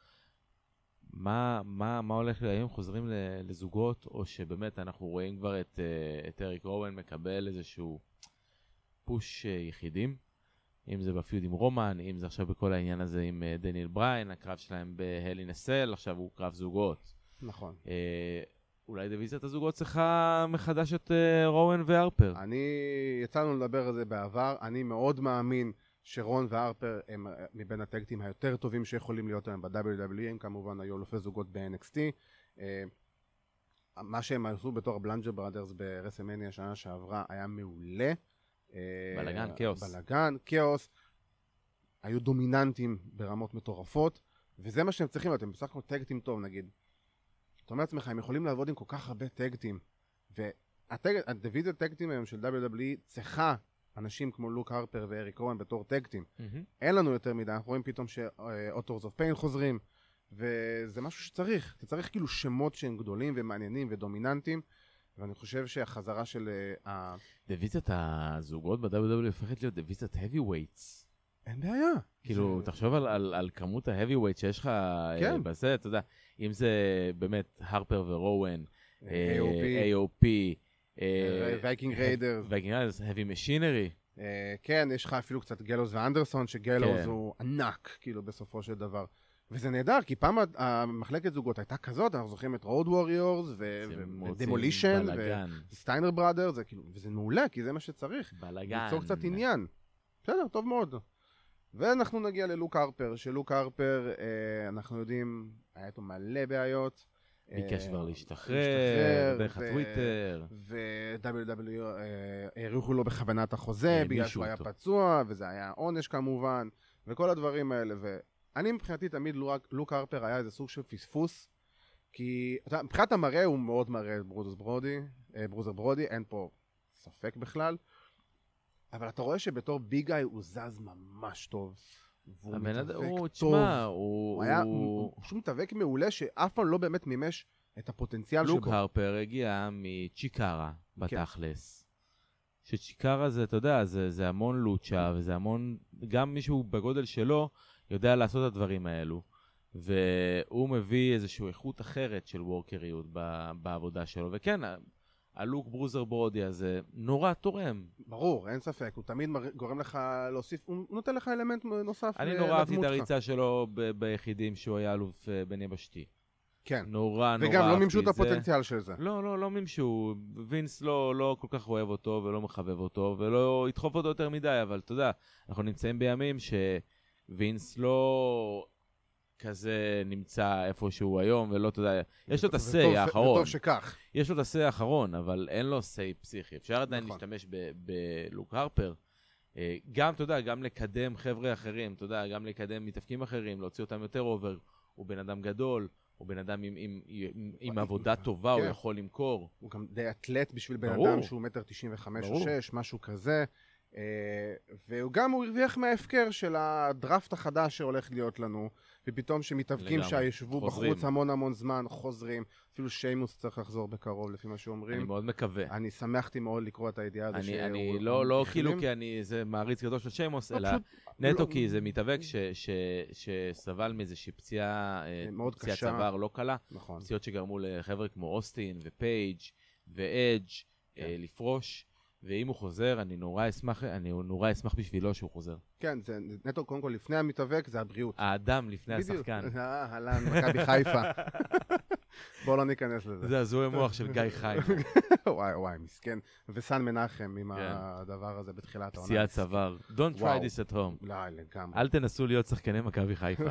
מה הולך היום? חוזרים לזוגות, או שבאמת אנחנו רואים כבר את אריק רואן מקבל איזשהו פוש יחידים, אם זה בפיוד עם רומן, אם זה עכשיו בכל העניין הזה עם דניאל בריין, הקרב שלהם בהלי נסל, עכשיו הוא קרב זוגות. נכון. אולי דיוויזיית הזוגות צריכה מחדש את רואן והרפר. יצאנו לדבר על זה בעבר, אני מאוד מאמין שרון והרפר הם מבין הטקטים היותר טובים שיכולים להיות להם ב-WWE, הם כמובן היו אלופי זוגות ב-NXT. מה שהם עשו בתור הבלנג'ר בראדרס ברסלמניה השנה שעברה היה מעולה. בלגן, כאוס. בלגן, כאוס. היו דומיננטים ברמות מטורפות, וזה מה שהם צריכים, אתם בסך הכל טקטים טוב, נגיד. אתה אומר לעצמך, הם יכולים לעבוד עם כל כך הרבה טקטים, והדיוויזיה טקטים היום של WWE צריכה אנשים כמו לוק הרפר ואריק רואן בתור טקטים. אין לנו יותר מדי, אנחנו רואים פתאום שאוטורס אוף פיין חוזרים, וזה משהו שצריך. אתה צריך כאילו שמות שהם גדולים ומעניינים ודומיננטיים, ואני חושב שהחזרה של... דיוויזיית הזוגות ב-WWE הופכת להיות דיוויזיית heavyweights. אין בעיה. כאילו, תחשוב על כמות ה-heavyweight שיש לך בזה, אתה יודע, אם זה באמת הרפר ורואן, AOP, וייקינג ריידרס, heavy machinery. כן, יש לך אפילו קצת גלוז ואנדרסון, שגלוז הוא ענק, כאילו, בסופו של דבר. וזה נהדר, כי פעם המחלקת זוגות הייתה כזאת, אנחנו זוכרים את רוד ווריורס, ודמולישן, וסטיינר בראדרס, וזה מעולה, כי זה מה שצריך. בלגן. ליצור קצת עניין. בסדר, טוב מאוד. ואנחנו נגיע ללוק הרפר, שלוק הרפר, אנחנו יודעים, היה איתו מלא בעיות. ביקש כבר להשתחרר, דרך הטוויטר. ו-WW העריכו לו בכוונת החוזה, בגלל שהוא היה פצוע, וזה היה עונש כמובן, וכל הדברים האלה. ואני מבחינתי תמיד לוק הרפר היה איזה סוג של פספוס, כי מבחינת המראה הוא מאוד מראה את ברוזר ברודי, אין פה ספק בכלל. אבל אתה רואה שבתור ביג גאי הוא זז ממש טוב. והוא מתאבק טוב. הוא פשוט מתאבק מעולה שאף פעם לא באמת מימש את הפוטנציאל שבו. לוק הרפר הגיע מצ'יקרה בתכלס. שצ'יקרה זה, אתה יודע, זה המון לוצ'ה, וזה המון, גם מישהו בגודל שלו יודע לעשות את הדברים האלו. והוא מביא איזושהי איכות אחרת של וורקריות בעבודה שלו. וכן, הלוק ברוזר ברודי הזה נורא תורם. ברור, אין ספק. הוא תמיד גורם לך להוסיף, הוא נותן לך אלמנט נוסף. אני נורא אהבתי את הריצה שלו ביחידים שהוא היה אלוף בין יבשתי. כן. נורא אהבתי. וגם לא מימשו את הפוטנציאל של זה. לא מימשו. וינס לא כל כך אוהב אותו ולא מחבב אותו ולא ידחוף אותו יותר מדי, אבל אתה יודע, אנחנו נמצאים בימים שווינס לא כזה נמצא איפשהו היום, ולא, אתה יודע, יש לו את הסי האחרון. וטוב שכך. יש לו את הסי האחרון, אבל אין לו סי פסיכי. אפשר עדיין להשתמש בלוק הרפר. גם, אתה יודע, גם לקדם חבר'ה אחרים, אתה יודע, גם לקדם מתאפקים אחרים, להוציא אותם יותר אובר. הוא בן אדם גדול, הוא בן אדם עם עבודה טובה, הוא יכול למכור. הוא גם די אתלט בשביל בן אדם שהוא 1.95 או 6, משהו כזה. וגם הוא הרוויח מההפקר של הדראפט החדש שהולך להיות לנו, ופתאום שמתאבקים שישבו בחוץ המון זמן, חוזרים, אפילו שיימוס צריך לחזור בקרוב לפי מה שאומרים. אני מאוד מקווה. אני שמחתי מאוד לקרוא את הידיעה הזו. אני לא כאילו כי אני זה מעריץ גדול של שיימוס, אלא נטו כי זה מתאבק שסבל מאיזושהי פציעה צוואר לא קלה, פציעות שגרמו לחבר'ה כמו אוסטין ופייג' ואדג' לפרוש. ואם הוא חוזר, אני נורא אשמח בשבילו שהוא חוזר. כן, זה נטו, קודם כל, לפני המתאבק, זה הבריאות. האדם לפני השחקן. הלן, מכבי חיפה. בואו לא ניכנס לזה. זה הזוי המוח של גיא חיפה. וואי, מסכן. וסן מנחם עם הדבר הזה בתחילת העונה. פציעת צוואר. Don't try this at home. לא, לגמרי. אל תנסו להיות שחקני מכבי חיפה.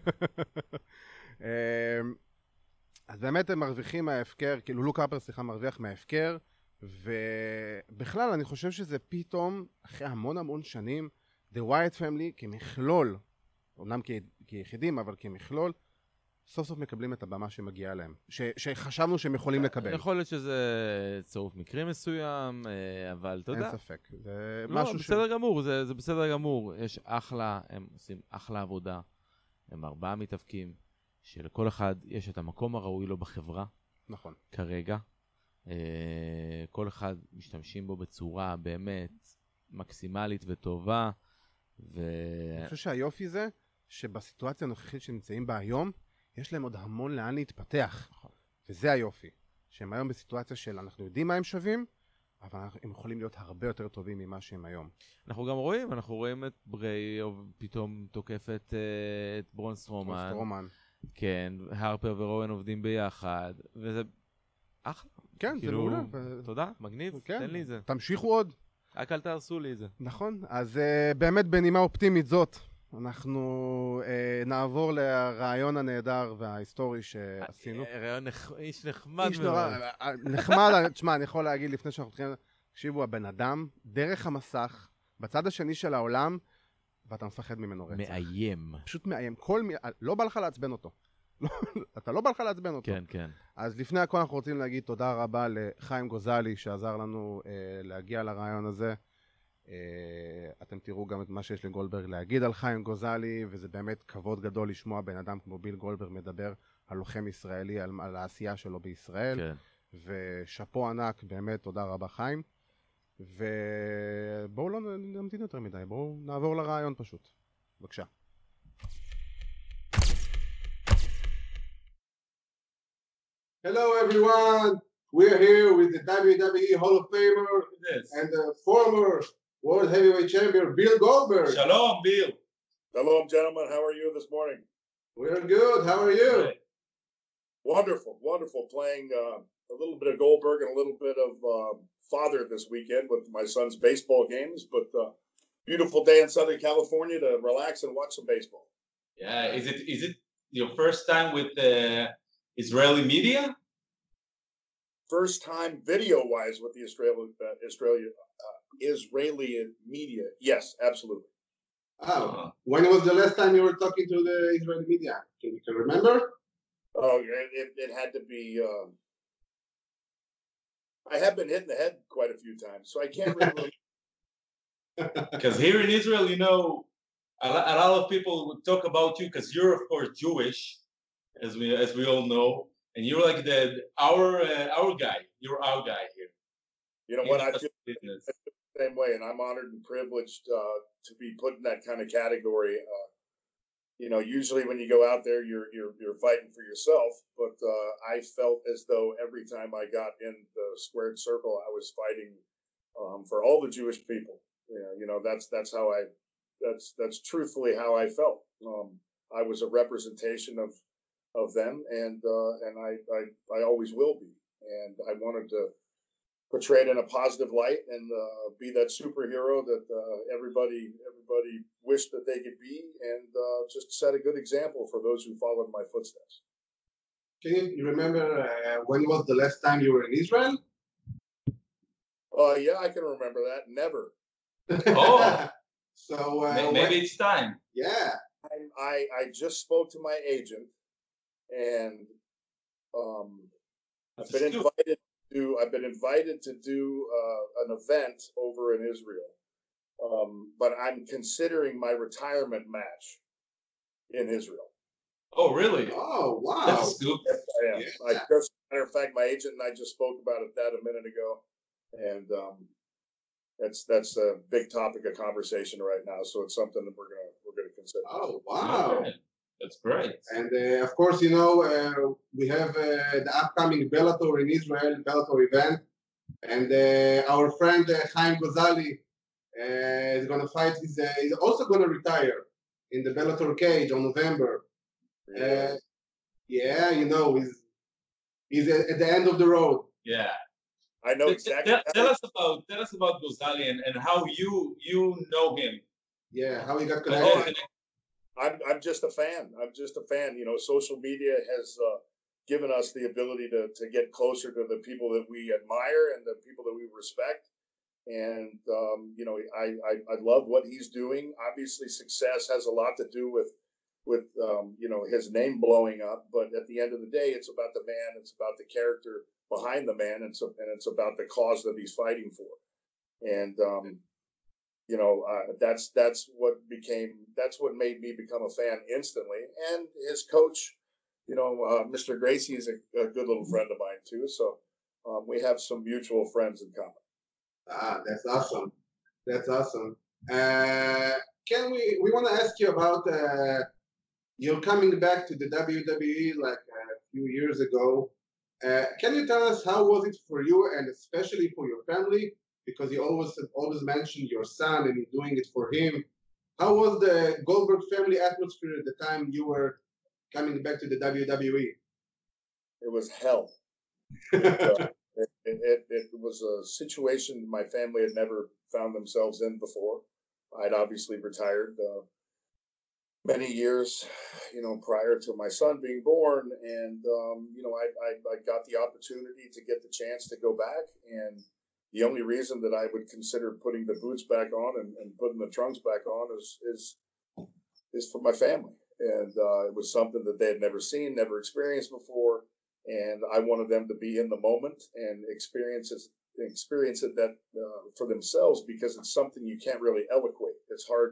אז באמת הם מרוויחים מההפקר, כאילו לוק הרפר, מרוויח מההפקר, ובכלל אני חושב שזה פתאום, אחרי המון שנים, The Wyatt Family כמכלול, אומנם כיחידים, אבל כמכלול, סוף סוף מקבלים את הבמה שמגיעה להם, שחשבנו שהם יכולים לקבל. יכול להיות שזה צירוף מקרים מסוים, אבל אתה יודע. אין ספק. לא, בסדר גמור, זה בסדר גמור. יש אחלה, הם עושים אחלה עבודה, הם 4 מתאבקים, שלכל אחד יש את המקום הראוי לו בחברה. נכון. כרגע. כל אחד משתמשים בו בצורה באמת מקסימלית וטובה. אני חושב שהיופי זה שבסיטואציה הנוכחית שנמצאים בה היום, יש להם עוד המון לאן להתפתח. וזה היופי. שהם היום בסיטואציה של אנחנו יודעים מה הם שווים, אבל הם יכולים להיות הרבה יותר טובים ממה שהם היום. אנחנו רואים את בריי פתאום תוקף את ברון סטרומן. כן, הרפר ורואן עובדים ביחד, וזה אחלה. כן, זה מעולה. תודה, מגניב, תן לי את זה. תמשיכו עוד. רק אל תהרסו לי את זה. נכון, אז באמת בנימה אופטימית זאת, אנחנו נעבור לרעיון הנהדר וההיסטורי שעשינו. רעיון איש נחמד מאוד. נחמד, תשמע, אני יכול להגיד לפני שאנחנו מתחילים, תקשיבו, הבן אדם, דרך המסך, בצד השני של העולם, ואתה מפחד ממנו רצח. מאיים. פשוט מאיים. לא בא לך לעצבן אותו. אתה לא בא לך לעצבן אותו. כן, כן. אז לפני הכל אנחנו רוצים להגיד תודה רבה לחיים גוזלי, שעזר לנו להגיע לרעיון הזה. אתם תראו גם את מה שיש לגולדברג להגיד על חיים גוזלי, וזה באמת כבוד גדול לשמוע בן אדם כמו ביל גולדברג מדבר על לוחם ישראלי, על העשייה שלו בישראל. כן. ושפו ענק, באמת תודה רבה חיים. ובואו לא נמתין יותר מדי, בואו נעבור לרעיון פשוט. בבקשה. Hello everyone, we're here with the WWE Hall of Famer and the former World Heavyweight Champion Bill Goldberg. Shalom, Bill. Hello, gentlemen. How are you this morning? We're good. How are you? Good. Wonderful, wonderful. Playing a little bit of Goldberg and a little bit of father this weekend with my son's baseball games. But beautiful day in Southern California to relax and watch some baseball. Yeah, is it your first time with Israeli media? First time video-wise with the Israeli media. Yes, absolutely. Oh, when was the last time you were talking to the Israeli media? Can you remember? Oh, it had to be. I have been hit in the head quite a few times, so I can't really. Because here in Israel, you know, a lot of people would talk about you because you're of course Jewish, as we all know, and you're like our guy. You're our guy here. You know what? I feel the same way, and I'm honored and privileged to be put in that kind of category. You know, usually when you go out there, you're fighting for yourself, but I felt as though every time I got in the squared circle, I was fighting for all the Jewish people. You know, that's how that's truthfully how I felt. I was a representation of them, and I always will be. And I wanted to portray it in a positive light and be that superhero that everybody wished that they could be, and just set a good example for those who followed my footsteps. Can you remember when was the last time you were in Israel? Yeah, I can remember that. Never. Oh, so maybe it's time. Yeah. I just spoke to my agent, and I've been invited to do an event over in Israel, but I'm considering my retirement match in Israel. Oh, really? Oh, wow. That's good. Yes, I am. Yeah. As a matter of fact, my agent and I just spoke about that a minute ago, and that's a big topic of conversation right now. So it's something that we're gonna consider. Oh, wow. Okay. That's great. And of course, you know, we have the upcoming Bellator in Israel, Bellator event. And our friend Chaim Gozali is going to fight. He's also going to retire in the Bellator cage on November. Yeah, you know, he's at the end of the road. Yeah. I know exactly. Tell us about Gozali and how you know him. Yeah, how he got connected. I'm just a fan. You know, social media has given us the ability to get closer to the people that we admire and the people that we respect. And you know, I love what he's doing. Obviously, success has a lot to do with you know, his name blowing up. But at the end of the day, it's about the man. It's about the character behind the man, and it's about the cause that he's fighting for. And you know, that's what made me become a fan instantly. And his coach, you know, Mr. Gracie is a good little friend of mine too. So we have some mutual friends in common. Ah, that's awesome. That's awesome. We want to ask you about you're coming back to the WWE like a few years ago. Can you tell us how was it for you, and especially for your family? Because you always mention your son and you're doing it for him. How was the Goldberg family atmosphere at the time you were coming back to the WWE? It was hell. It was a situation my family had never found themselves in before. I'd obviously retired many years, you know, prior to my son being born, and you know, I got the opportunity to get the chance to go back and the only reason that I would consider putting the boots back on and putting the trunks back on is for my family. And it was something that they had never seen, never experienced before. And I wanted them to be in the moment and experience it that for themselves, because it's something you can't really eloquate. It's hard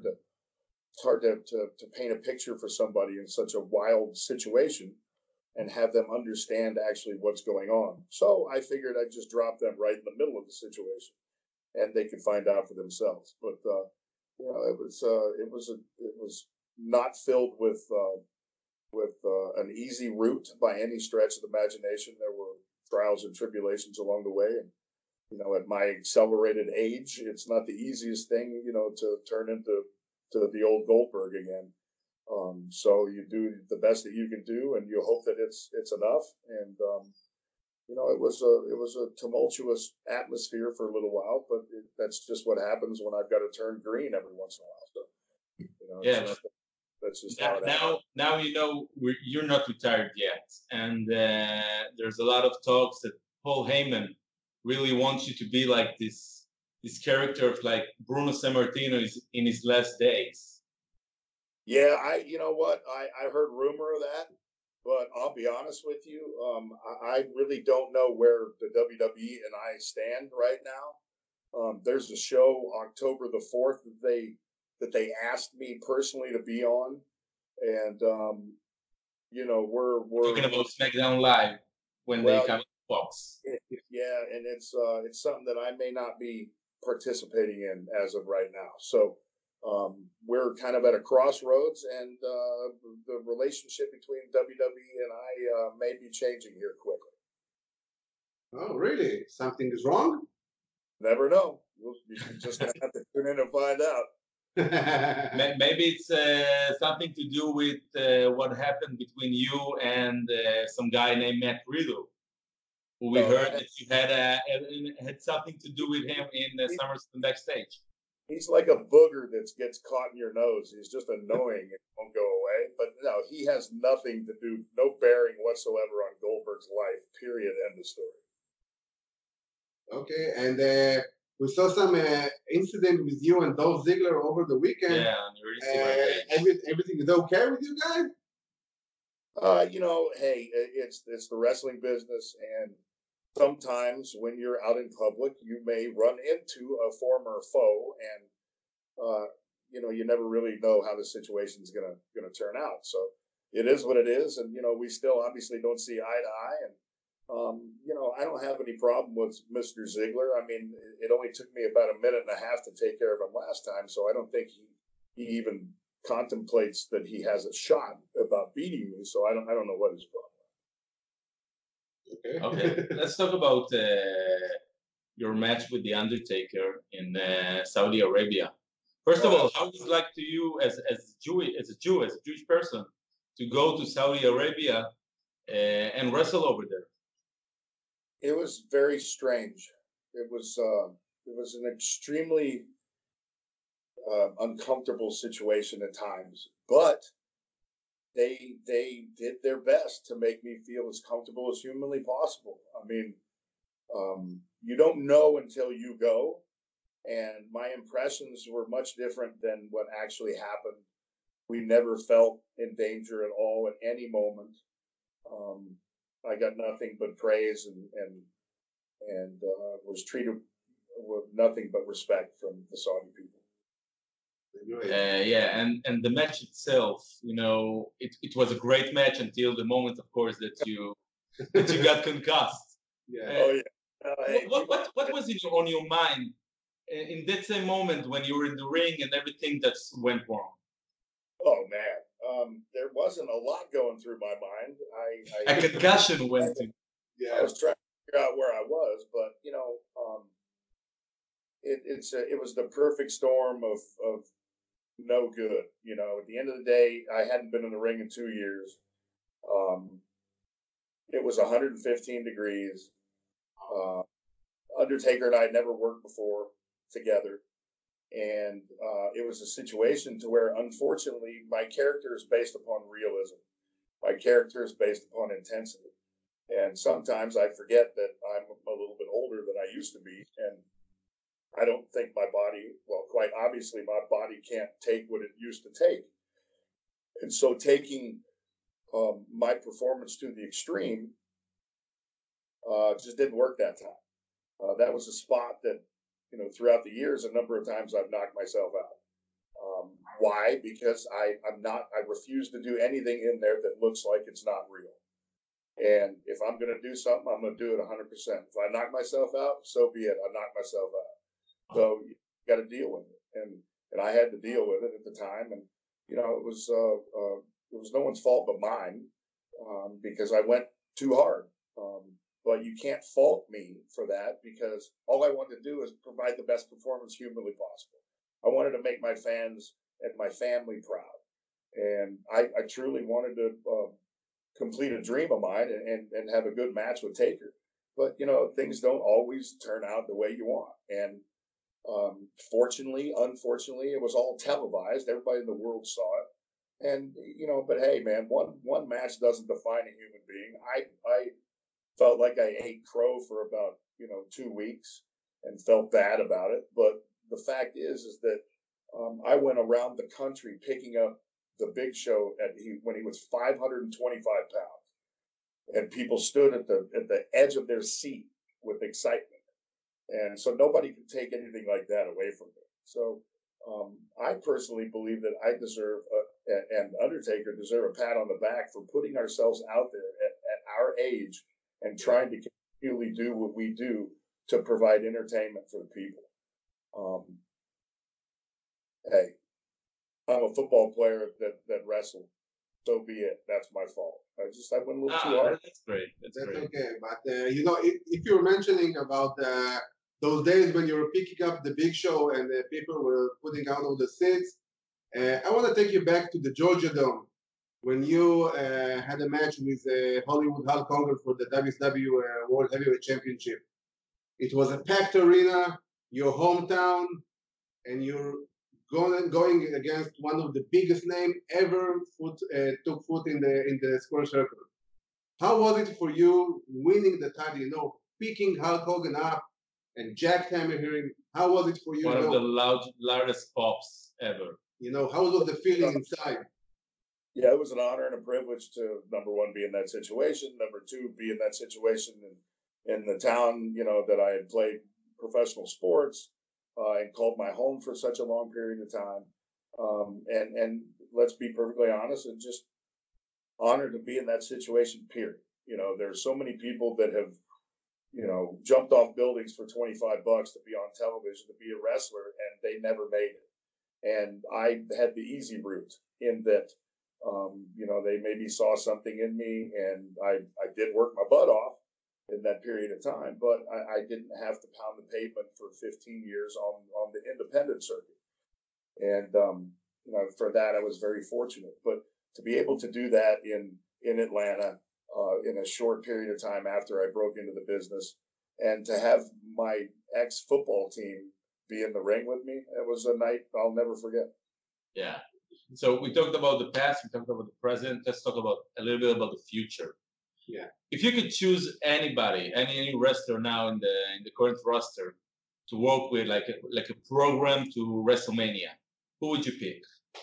to paint a picture for somebody in such a wild situation and have them understand actually what's going on. So I figured I'd just drop them right in the middle of the situation, and they could find out for themselves. But it was not filled with an easy route by any stretch of the imagination. There were trials and tribulations along the way, and at my accelerated age, it's not the easiest thing, to turn into the old Goldberg again. So you do the best that you can do, and you hope that it's enough. And it was a tumultuous atmosphere for a little while, but that's just what happens when I've got to turn green every once in a while. So that's just how it happens. Now you're not retired yet, and there's a lot of talks that Paul Heyman really wants you to be like this character of like Bruno Sammartino is in his last days. Yeah, you know what? I heard rumor of that, but I'll be honest with you. I really don't know where the WWE and I stand right now. There's a show October the 4th that they asked me personally to be on, and we're talking about SmackDown Live when they come to Fox. Yeah, and it's something that I may not be participating in as of right now. So. We're kind of at a crossroads, and the relationship between WWE and I may be changing here quickly. Oh, really? Something is wrong? Never know. You're just going to have to tune in and find out. Maybe it's something to do with what happened between you and some guy named Matt Riddle, who we heard that you had something to do with him in SummerSlam backstage. He's like a booger that gets caught in your nose. He's just annoying and won't go away. But no, he has nothing to do, no bearing whatsoever on Goldberg's life, period, end of story. Okay, and we saw some incident with you and Dolph Ziggler over the weekend. Yeah, everything is okay with you guys? Hey, it's the wrestling business, and sometimes when you're out in public, you may run into a former foe, and you never really know how the situation's gonna turn out. So it is what it is, and we still obviously don't see eye to eye. And I don't have any problem with Mr. Ziggler. I mean, it only took me about a minute and a half to take care of him last time, so I don't think he even contemplates that he has a shot about beating me. So I don't know what his problem. Okay, let's talk about your match with The Undertaker in Saudi Arabia. First of all, how is it like to you as a Jewish person, to go to Saudi Arabia and wrestle over there? It was very strange. It was an extremely uncomfortable situation at times, but they did their best to make me feel as comfortable as humanly possible. I mean, you don't know until you go, and my impressions were much different than what actually happened. We never felt in danger at all at any moment. I got nothing but praise and was treated with nothing but respect from the Saudi people. And the match itself, it was a great match until the moment, of course, that you got concussed. Yeah. What was on your mind in that same moment when you were in the ring and everything that went wrong? Oh man, there wasn't a lot going through my mind. A concussion went in. Yeah, I was trying to figure out where I was, but it was the perfect storm of no good. At the end of the day, I hadn't been in the ring in 2 years. It was 115 degrees. Undertaker and I had never worked before together. And it was a situation to where, unfortunately, my character is based upon realism. My character is based upon intensity. And sometimes I forget that I'm a little bit older than I used to be. And I don't think my body, well, quite obviously, my body can't take what it used to take. And so taking my performance to the extreme just didn't work that time. That was a spot that, you know, throughout the years, a number of times I've knocked myself out. Why? Because I refuse to do anything in there that looks like it's not real. And if I'm going to do something, I'm going to do it 100%. If I knock myself out, so be it. I knock myself out. So you got to deal with it. And I had to deal with it at the time. And, you know, it was no one's fault but mine because I went too hard. But you can't fault me for that because all I wanted to do is provide the best performance humanly possible. I wanted to make my fans and my family proud. And I truly wanted to complete a dream of mine and have a good match with Taker. But, you know, things don't always turn out the way you want. And fortunately, unfortunately, it was all televised. Everybody in the world saw it. And, you know, but hey, man, one match doesn't define a human being. I felt like I ate crow for about, 2 weeks and felt bad about it. But the fact is that I went around the country picking up the Big Show when he was 525 pounds, and people stood at the edge of their seat with excitement, and so nobody could take anything like that away from me. So I personally believe that I deserve and Undertaker deserve a pat on the back for putting ourselves out there at our age and trying to continually do what we do to provide entertainment for the people. Hey, I'm a football player that wrestled. So be it. That's my fault. I went a little too hard. That's great. That's great. Okay. But, if you're mentioning about those days when you were picking up the Big Show and people were putting out all the seats, I want to take you back to the Georgia Dome when you had a match with Hollywood Hulk Hogan for the WCW World Heavyweight Championship. It was a packed arena, your hometown, and you're going against one of the biggest names ever took foot in the square circle. How was it for you winning the title? Picking Hulk Hogan up and jackhammer him. How was it for you? One of the loudest pops ever. How was the feeling inside? Yeah, it was an honor and a privilege to, number one, be in that situation. Number two, be in that situation in the town, that I had played professional sports. And called my home for such a long period of time. And let's be perfectly honest, and just honored to be in that situation, period. There's so many people that have, jumped off buildings for $25 to be on television, to be a wrestler, and they never made it. And I had the easy route in that, they maybe saw something in me, and I did work my butt off in that period of time, but I didn't have to pound the pavement for 15 years on the independent circuit. And, for that, I was very fortunate. But to be able to do that in Atlanta in a short period of time after I broke into the business, and to have my ex-football team be in the ring with me, it was a night I'll never forget. Yeah. So we talked about the past, we talked about the present. Let's talk about a little bit about the future. Yeah. If you could choose anybody, any wrestler now in the current roster to work with, like a program to WrestleMania, who would you pick?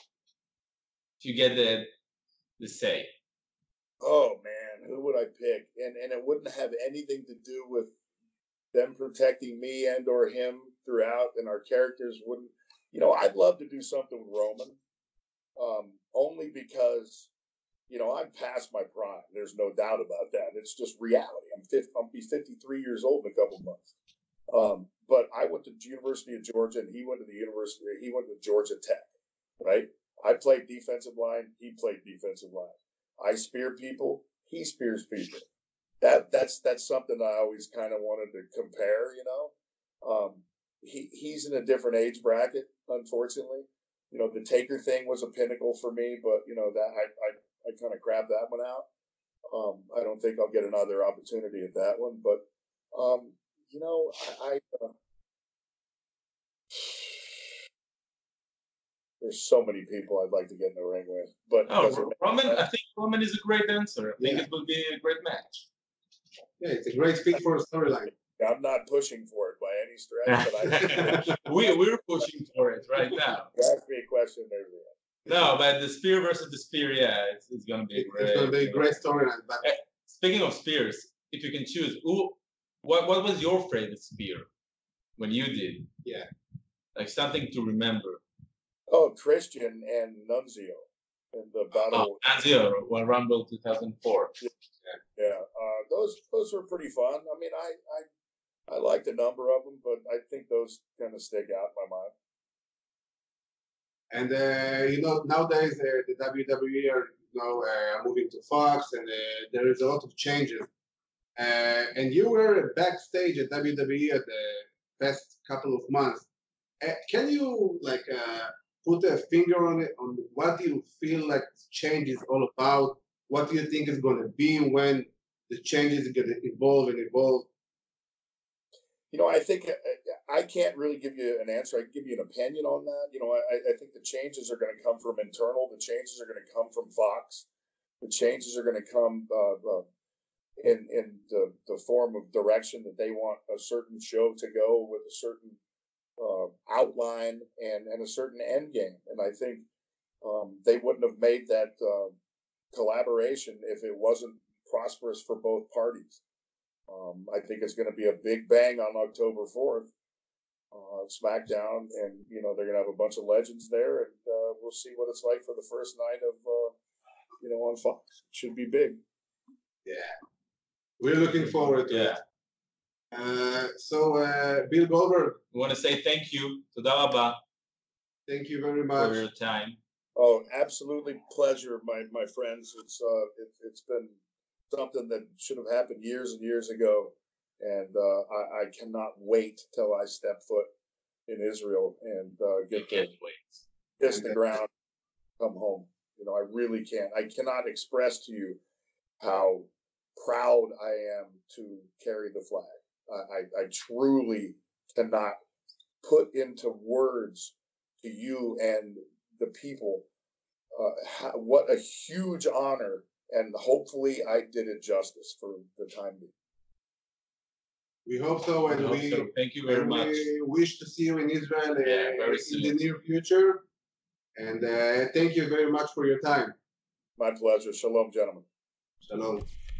If you get the say. Oh man, who would I pick? And it wouldn't have anything to do with them protecting me and or him throughout, and our characters wouldn't. I'd love to do something with Roman, only because. I'm past my prime. There's no doubt about that. It's just reality. I'll be 53 years old in a couple of months. But I went to the University of Georgia, and he went to Georgia Tech, right? I played defensive line. He played defensive line. I spear people. He spears people. That's something I always kind of wanted to compare. He's in a different age bracket, unfortunately. The Taker thing was a pinnacle for me, but that I kind of grabbed that one out. I don't think I'll get another opportunity at that one, but there's so many people I'd like to get in the ring with. But Roman, I think Roman is a great dancer. I think it will be a great match. Yeah, it's a great fit for a storyline. I'm not pushing for it by any stretch, but I think we're pushing for it right now. Ask me a question, everything. No, but the spear versus the spear, yeah, it's going to be great. It's going to be a great storyline. But speaking of spears, if you can choose, what was your favorite spear when you did? Yeah, like something to remember. Oh, Christian and Nunzio in the battle. Nunzio, Royal Rumble 2004. Yeah, those were pretty fun. I mean, I liked a number of them, but I think those kind of stick out in my mind. And nowadays the WWE are moving to Fox, and there is a lot of changes. And you were backstage at WWE at the past couple of months. Can you put a finger on it? On what do you feel like change is all about? What do you think is going to be when the changes are going to evolve and evolve? I think I can't really give you an answer. I can give you an opinion on that. I think the changes are going to come from internal. The changes are going to come from Fox. The changes are going to come in the form of direction that they want a certain show to go with a certain outline and a certain end game. And I think they wouldn't have made that collaboration if it wasn't prosperous for both parties. I think it's going to be a big bang on October 4th, SmackDown, and they're going to have a bunch of legends there, and we'll see what it's like for the first night of on Fox. It should be big. Yeah, we're looking forward to it. So Bill Goldberg, we want to say thank you. Toda rabba. Thank you very much for your time. Oh, absolutely pleasure, my friends. It's been something that should have happened years and years ago, and I cannot wait till I step foot in Israel and get to kiss the ground, come home. I really can't. I cannot express to you how proud I am to carry the flag. I truly cannot put into words to you and the people what a huge honor, and hopefully I did it justice for the time being. We hope so, and thank you very much. We wish to see you in Israel in the near future, and thank you very much for your time. My pleasure. Shalom, gentlemen. Shalom.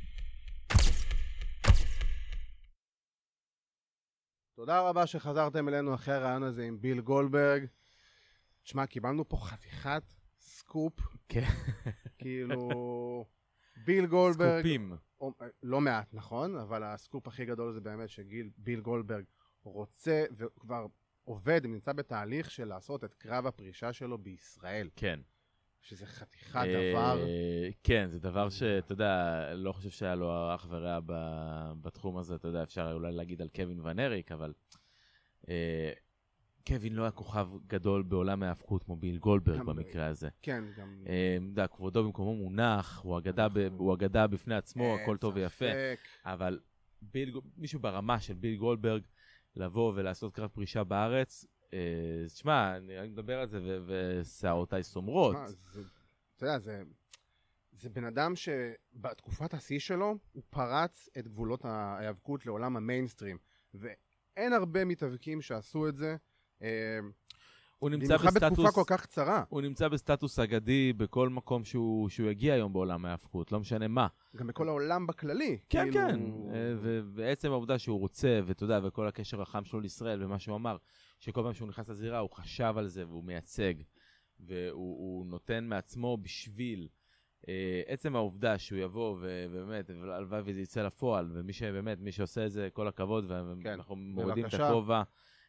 תודה רבה שחזרתם אלינו אחרי הרעיון הזה עם ביל גולדברג. תשמע, קיבלנו פה חתיכת סקופ. כן. כאילו, ביל גולדברג... סקופים. לא מעט, נכון? אבל הסקופ הכי גדול זה באמת שביל גולדברג רוצה וכבר עובד, נמצא בתהליך של לעשות את קרב הפרישה שלו בישראל. כן. שזה חתיכת דבר. כן, זה דבר שאתה יודע, לא חושב שהיה לו אח ורע בתחום הזה, אתה יודע, אפשר אולי להגיד על קווין ון אריק, אבל קווין לא היה כוכב גדול בעולם ההאבקות כמו ביל גולדברג במקרה הזה. כן, גם... אתה יודע, כבודו במקומו מונח, הוא אגדה בפני עצמו, הכל טוב ויפה, אבל מישהו ברמה של ביל גולדברג לבוא ולעשות קרב פרישה בארץ, תשמע, אני מדבר על זה ושערותיי סומרות. אתה יודע, זה בן אדם שבתקופת השיא שלו הוא פרץ את גבולות ההיאבקות לעולם המיינסטרים, ואין הרבה מתאבקים שעשו את זה, במיוחד בתקופה כל כך קצרה. הוא נמצא בסטטוס אגדי בכל מקום שהוא יגיע היום בעולם ההיאבקות, לא משנה מה. גם בכל העולם בכללי. כן, כן. ובעצם העובדה שהוא רוצה, ואתה יודע, וכל הקשר החם שלו לישראל, ומה שהוא אמר, שכל פעם שהוא נכנס לזירה, הוא חשב על זה, והוא מייצג, והוא נותן מעצמו בשביל עצם העובדה שהוא יבוא, ובאמת, הלוואי וזה יצא לפועל, ומי שעושה את זה, כל הכבוד, ואנחנו מורידים את הכובע,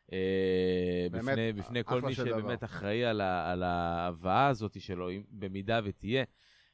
בפני כל מי שבאמת אחראי על ההבאה הזאת שלו, במידה ותהיה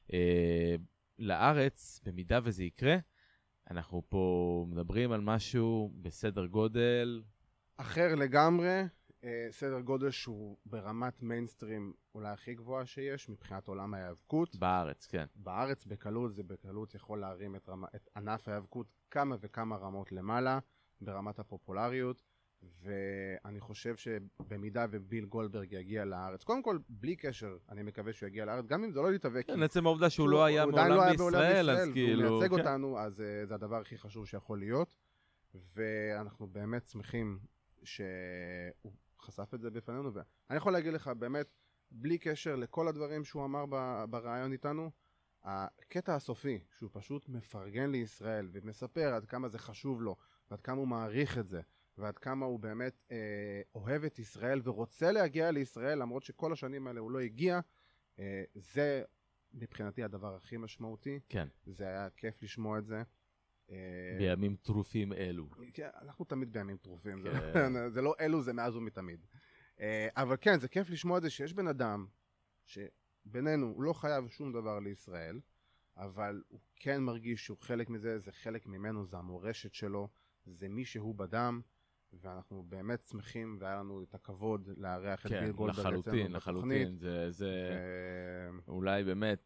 לארץ, במידה וזה יקרה, אנחנו פה מדברים על משהו בסדר גודל אחר לגמרי, סדר גודל שהוא ברמת מיינסטרים אולי הכי גבוהה שיש מבחינת עולם ההיאבקות. בארץ, כן. בארץ בקלות, זה בקלות יכול להרים את ענף ההיאבקות כמה וכמה רמות למעלה ברמת הפופולריות. ואני חושב שבמידה וביל גולדברג יגיע לארץ, קודם כל, בלי קשר, אני מקווה שהוא יגיע לארץ, גם אם זה לא להתאבק. כן, עצם העובדה שהוא לא היה מעולם בישראל, אז כאילו... הוא מייצג אותנו, אז זה הדבר הכי חשוב שיכול להיות, ואנחנו באמת שמחים שהוא חשף את זה בפנינו, ואני יכול להגיד לך, באמת, בלי קשר לכל הדברים שהוא אמר ברעיון איתנו, הקטע הסופי, שהוא פשוט מפרגן לישראל, ומספר עד כמה זה חשוב לו, ועד כמה הוא מעריך את זה, ועד כמה הוא באמת אוהב את ישראל ורוצה להגיע לישראל, למרות שכל השנים האלה הוא לא הגיע, זה מבחינתי הדבר הכי משמעותי. כן. זה היה כיף לשמוע את זה. בימים טרופים אלו. כן, אנחנו תמיד בימים טרופים, זה לא אלו, זה מאז ומתמיד. אבל כן, זה כיף לשמוע את זה שיש בן אדם, שבינינו הוא לא חייב שום דבר לישראל, אבל הוא כן מרגיש שהוא חלק מזה, זה חלק ממנו, זה המורשת שלו, זה מי שהוא בדם, ואנחנו באמת שמחים, והיה לנו את הכבוד לארח את ביל גולדברג אצלנו בתוכנית. כן, לחלוטין, זה אולי באמת,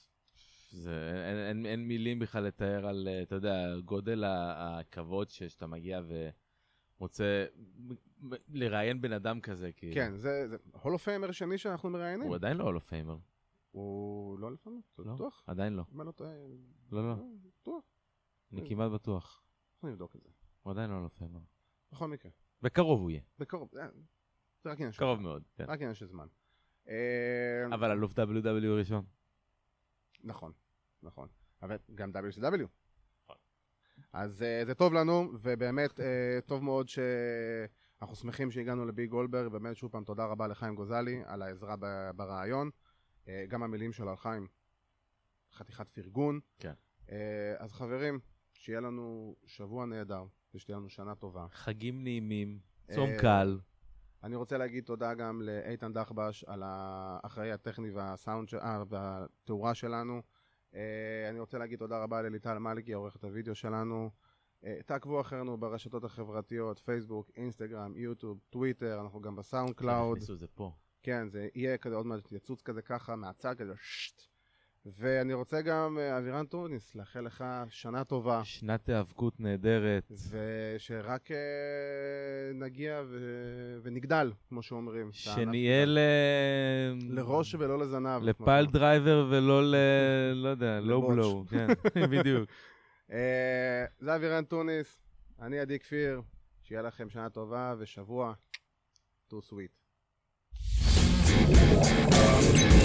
אין מילים בכלל לתאר על, אתה יודע, גודל הכבוד שאתה מגיע ומוצא לראיין בן אדם כזה. כן, זה הולו-פיימר שני שאנחנו מראיינים. הוא עדיין לא הולו-פיימר. הוא לא הולו-פיימר? לא, בטוח? עדיין לא. מה לא טועה? לא. בטוח? אני כמעט בטוח. אנחנו נבדוק את זה. הוא עדיין לא הולו-פיימר. בכל מקרה. בקרוב הוא יהיה. בקרוב, זה רק עניין של זמן. קרוב מאוד, כן. רק עניין של זמן. אבל אלוף WW ראשון. נכון. אבל גם WCW. אז זה טוב לנו, ובאמת טוב מאוד שאנחנו שמחים שהגענו לביל גולדברג, ובאמת שוב פעם תודה רבה לחיים גוזלי על העזרה ברעיון. גם המילים שלו על חיים, חתיכת פרגון. כן. אז חברים, שיהיה לנו שבוע נהדר, ושתהיה לנו שנה טובה. חגים נעימים, צום קל. אני רוצה להגיד תודה גם לאיתן דחבש על האחראי הטכני והסאונד והתאורה שלנו. אני רוצה להגיד תודה רבה לליטל מלכי, עורכת הוידאו שלנו. תעקבו אחרינו ברשתות החברתיות, פייסבוק, אינסטגרם, יוטיוב, טוויטר, אנחנו גם בסאונד קלאוד. הכניסו זה פה. כן, זה יהיה כזה עוד מעט יצוץ כזה ככה מהצד כזה שט. ואני רוצה גם, אבירן טוניס, לאחל לך שנה טובה. שנת היאבקות נהדרת. ושרק נגיע ונגדל, כמו שאומרים. שנהיה לראש ולא לזנב. לפייל דרייבר ולא לא יודע, לא בלו. כן, בדיוק. זה אבירן טוניס, אני עדי כפיר, שיהיה לכם שנה טובה ושבוע too sweet.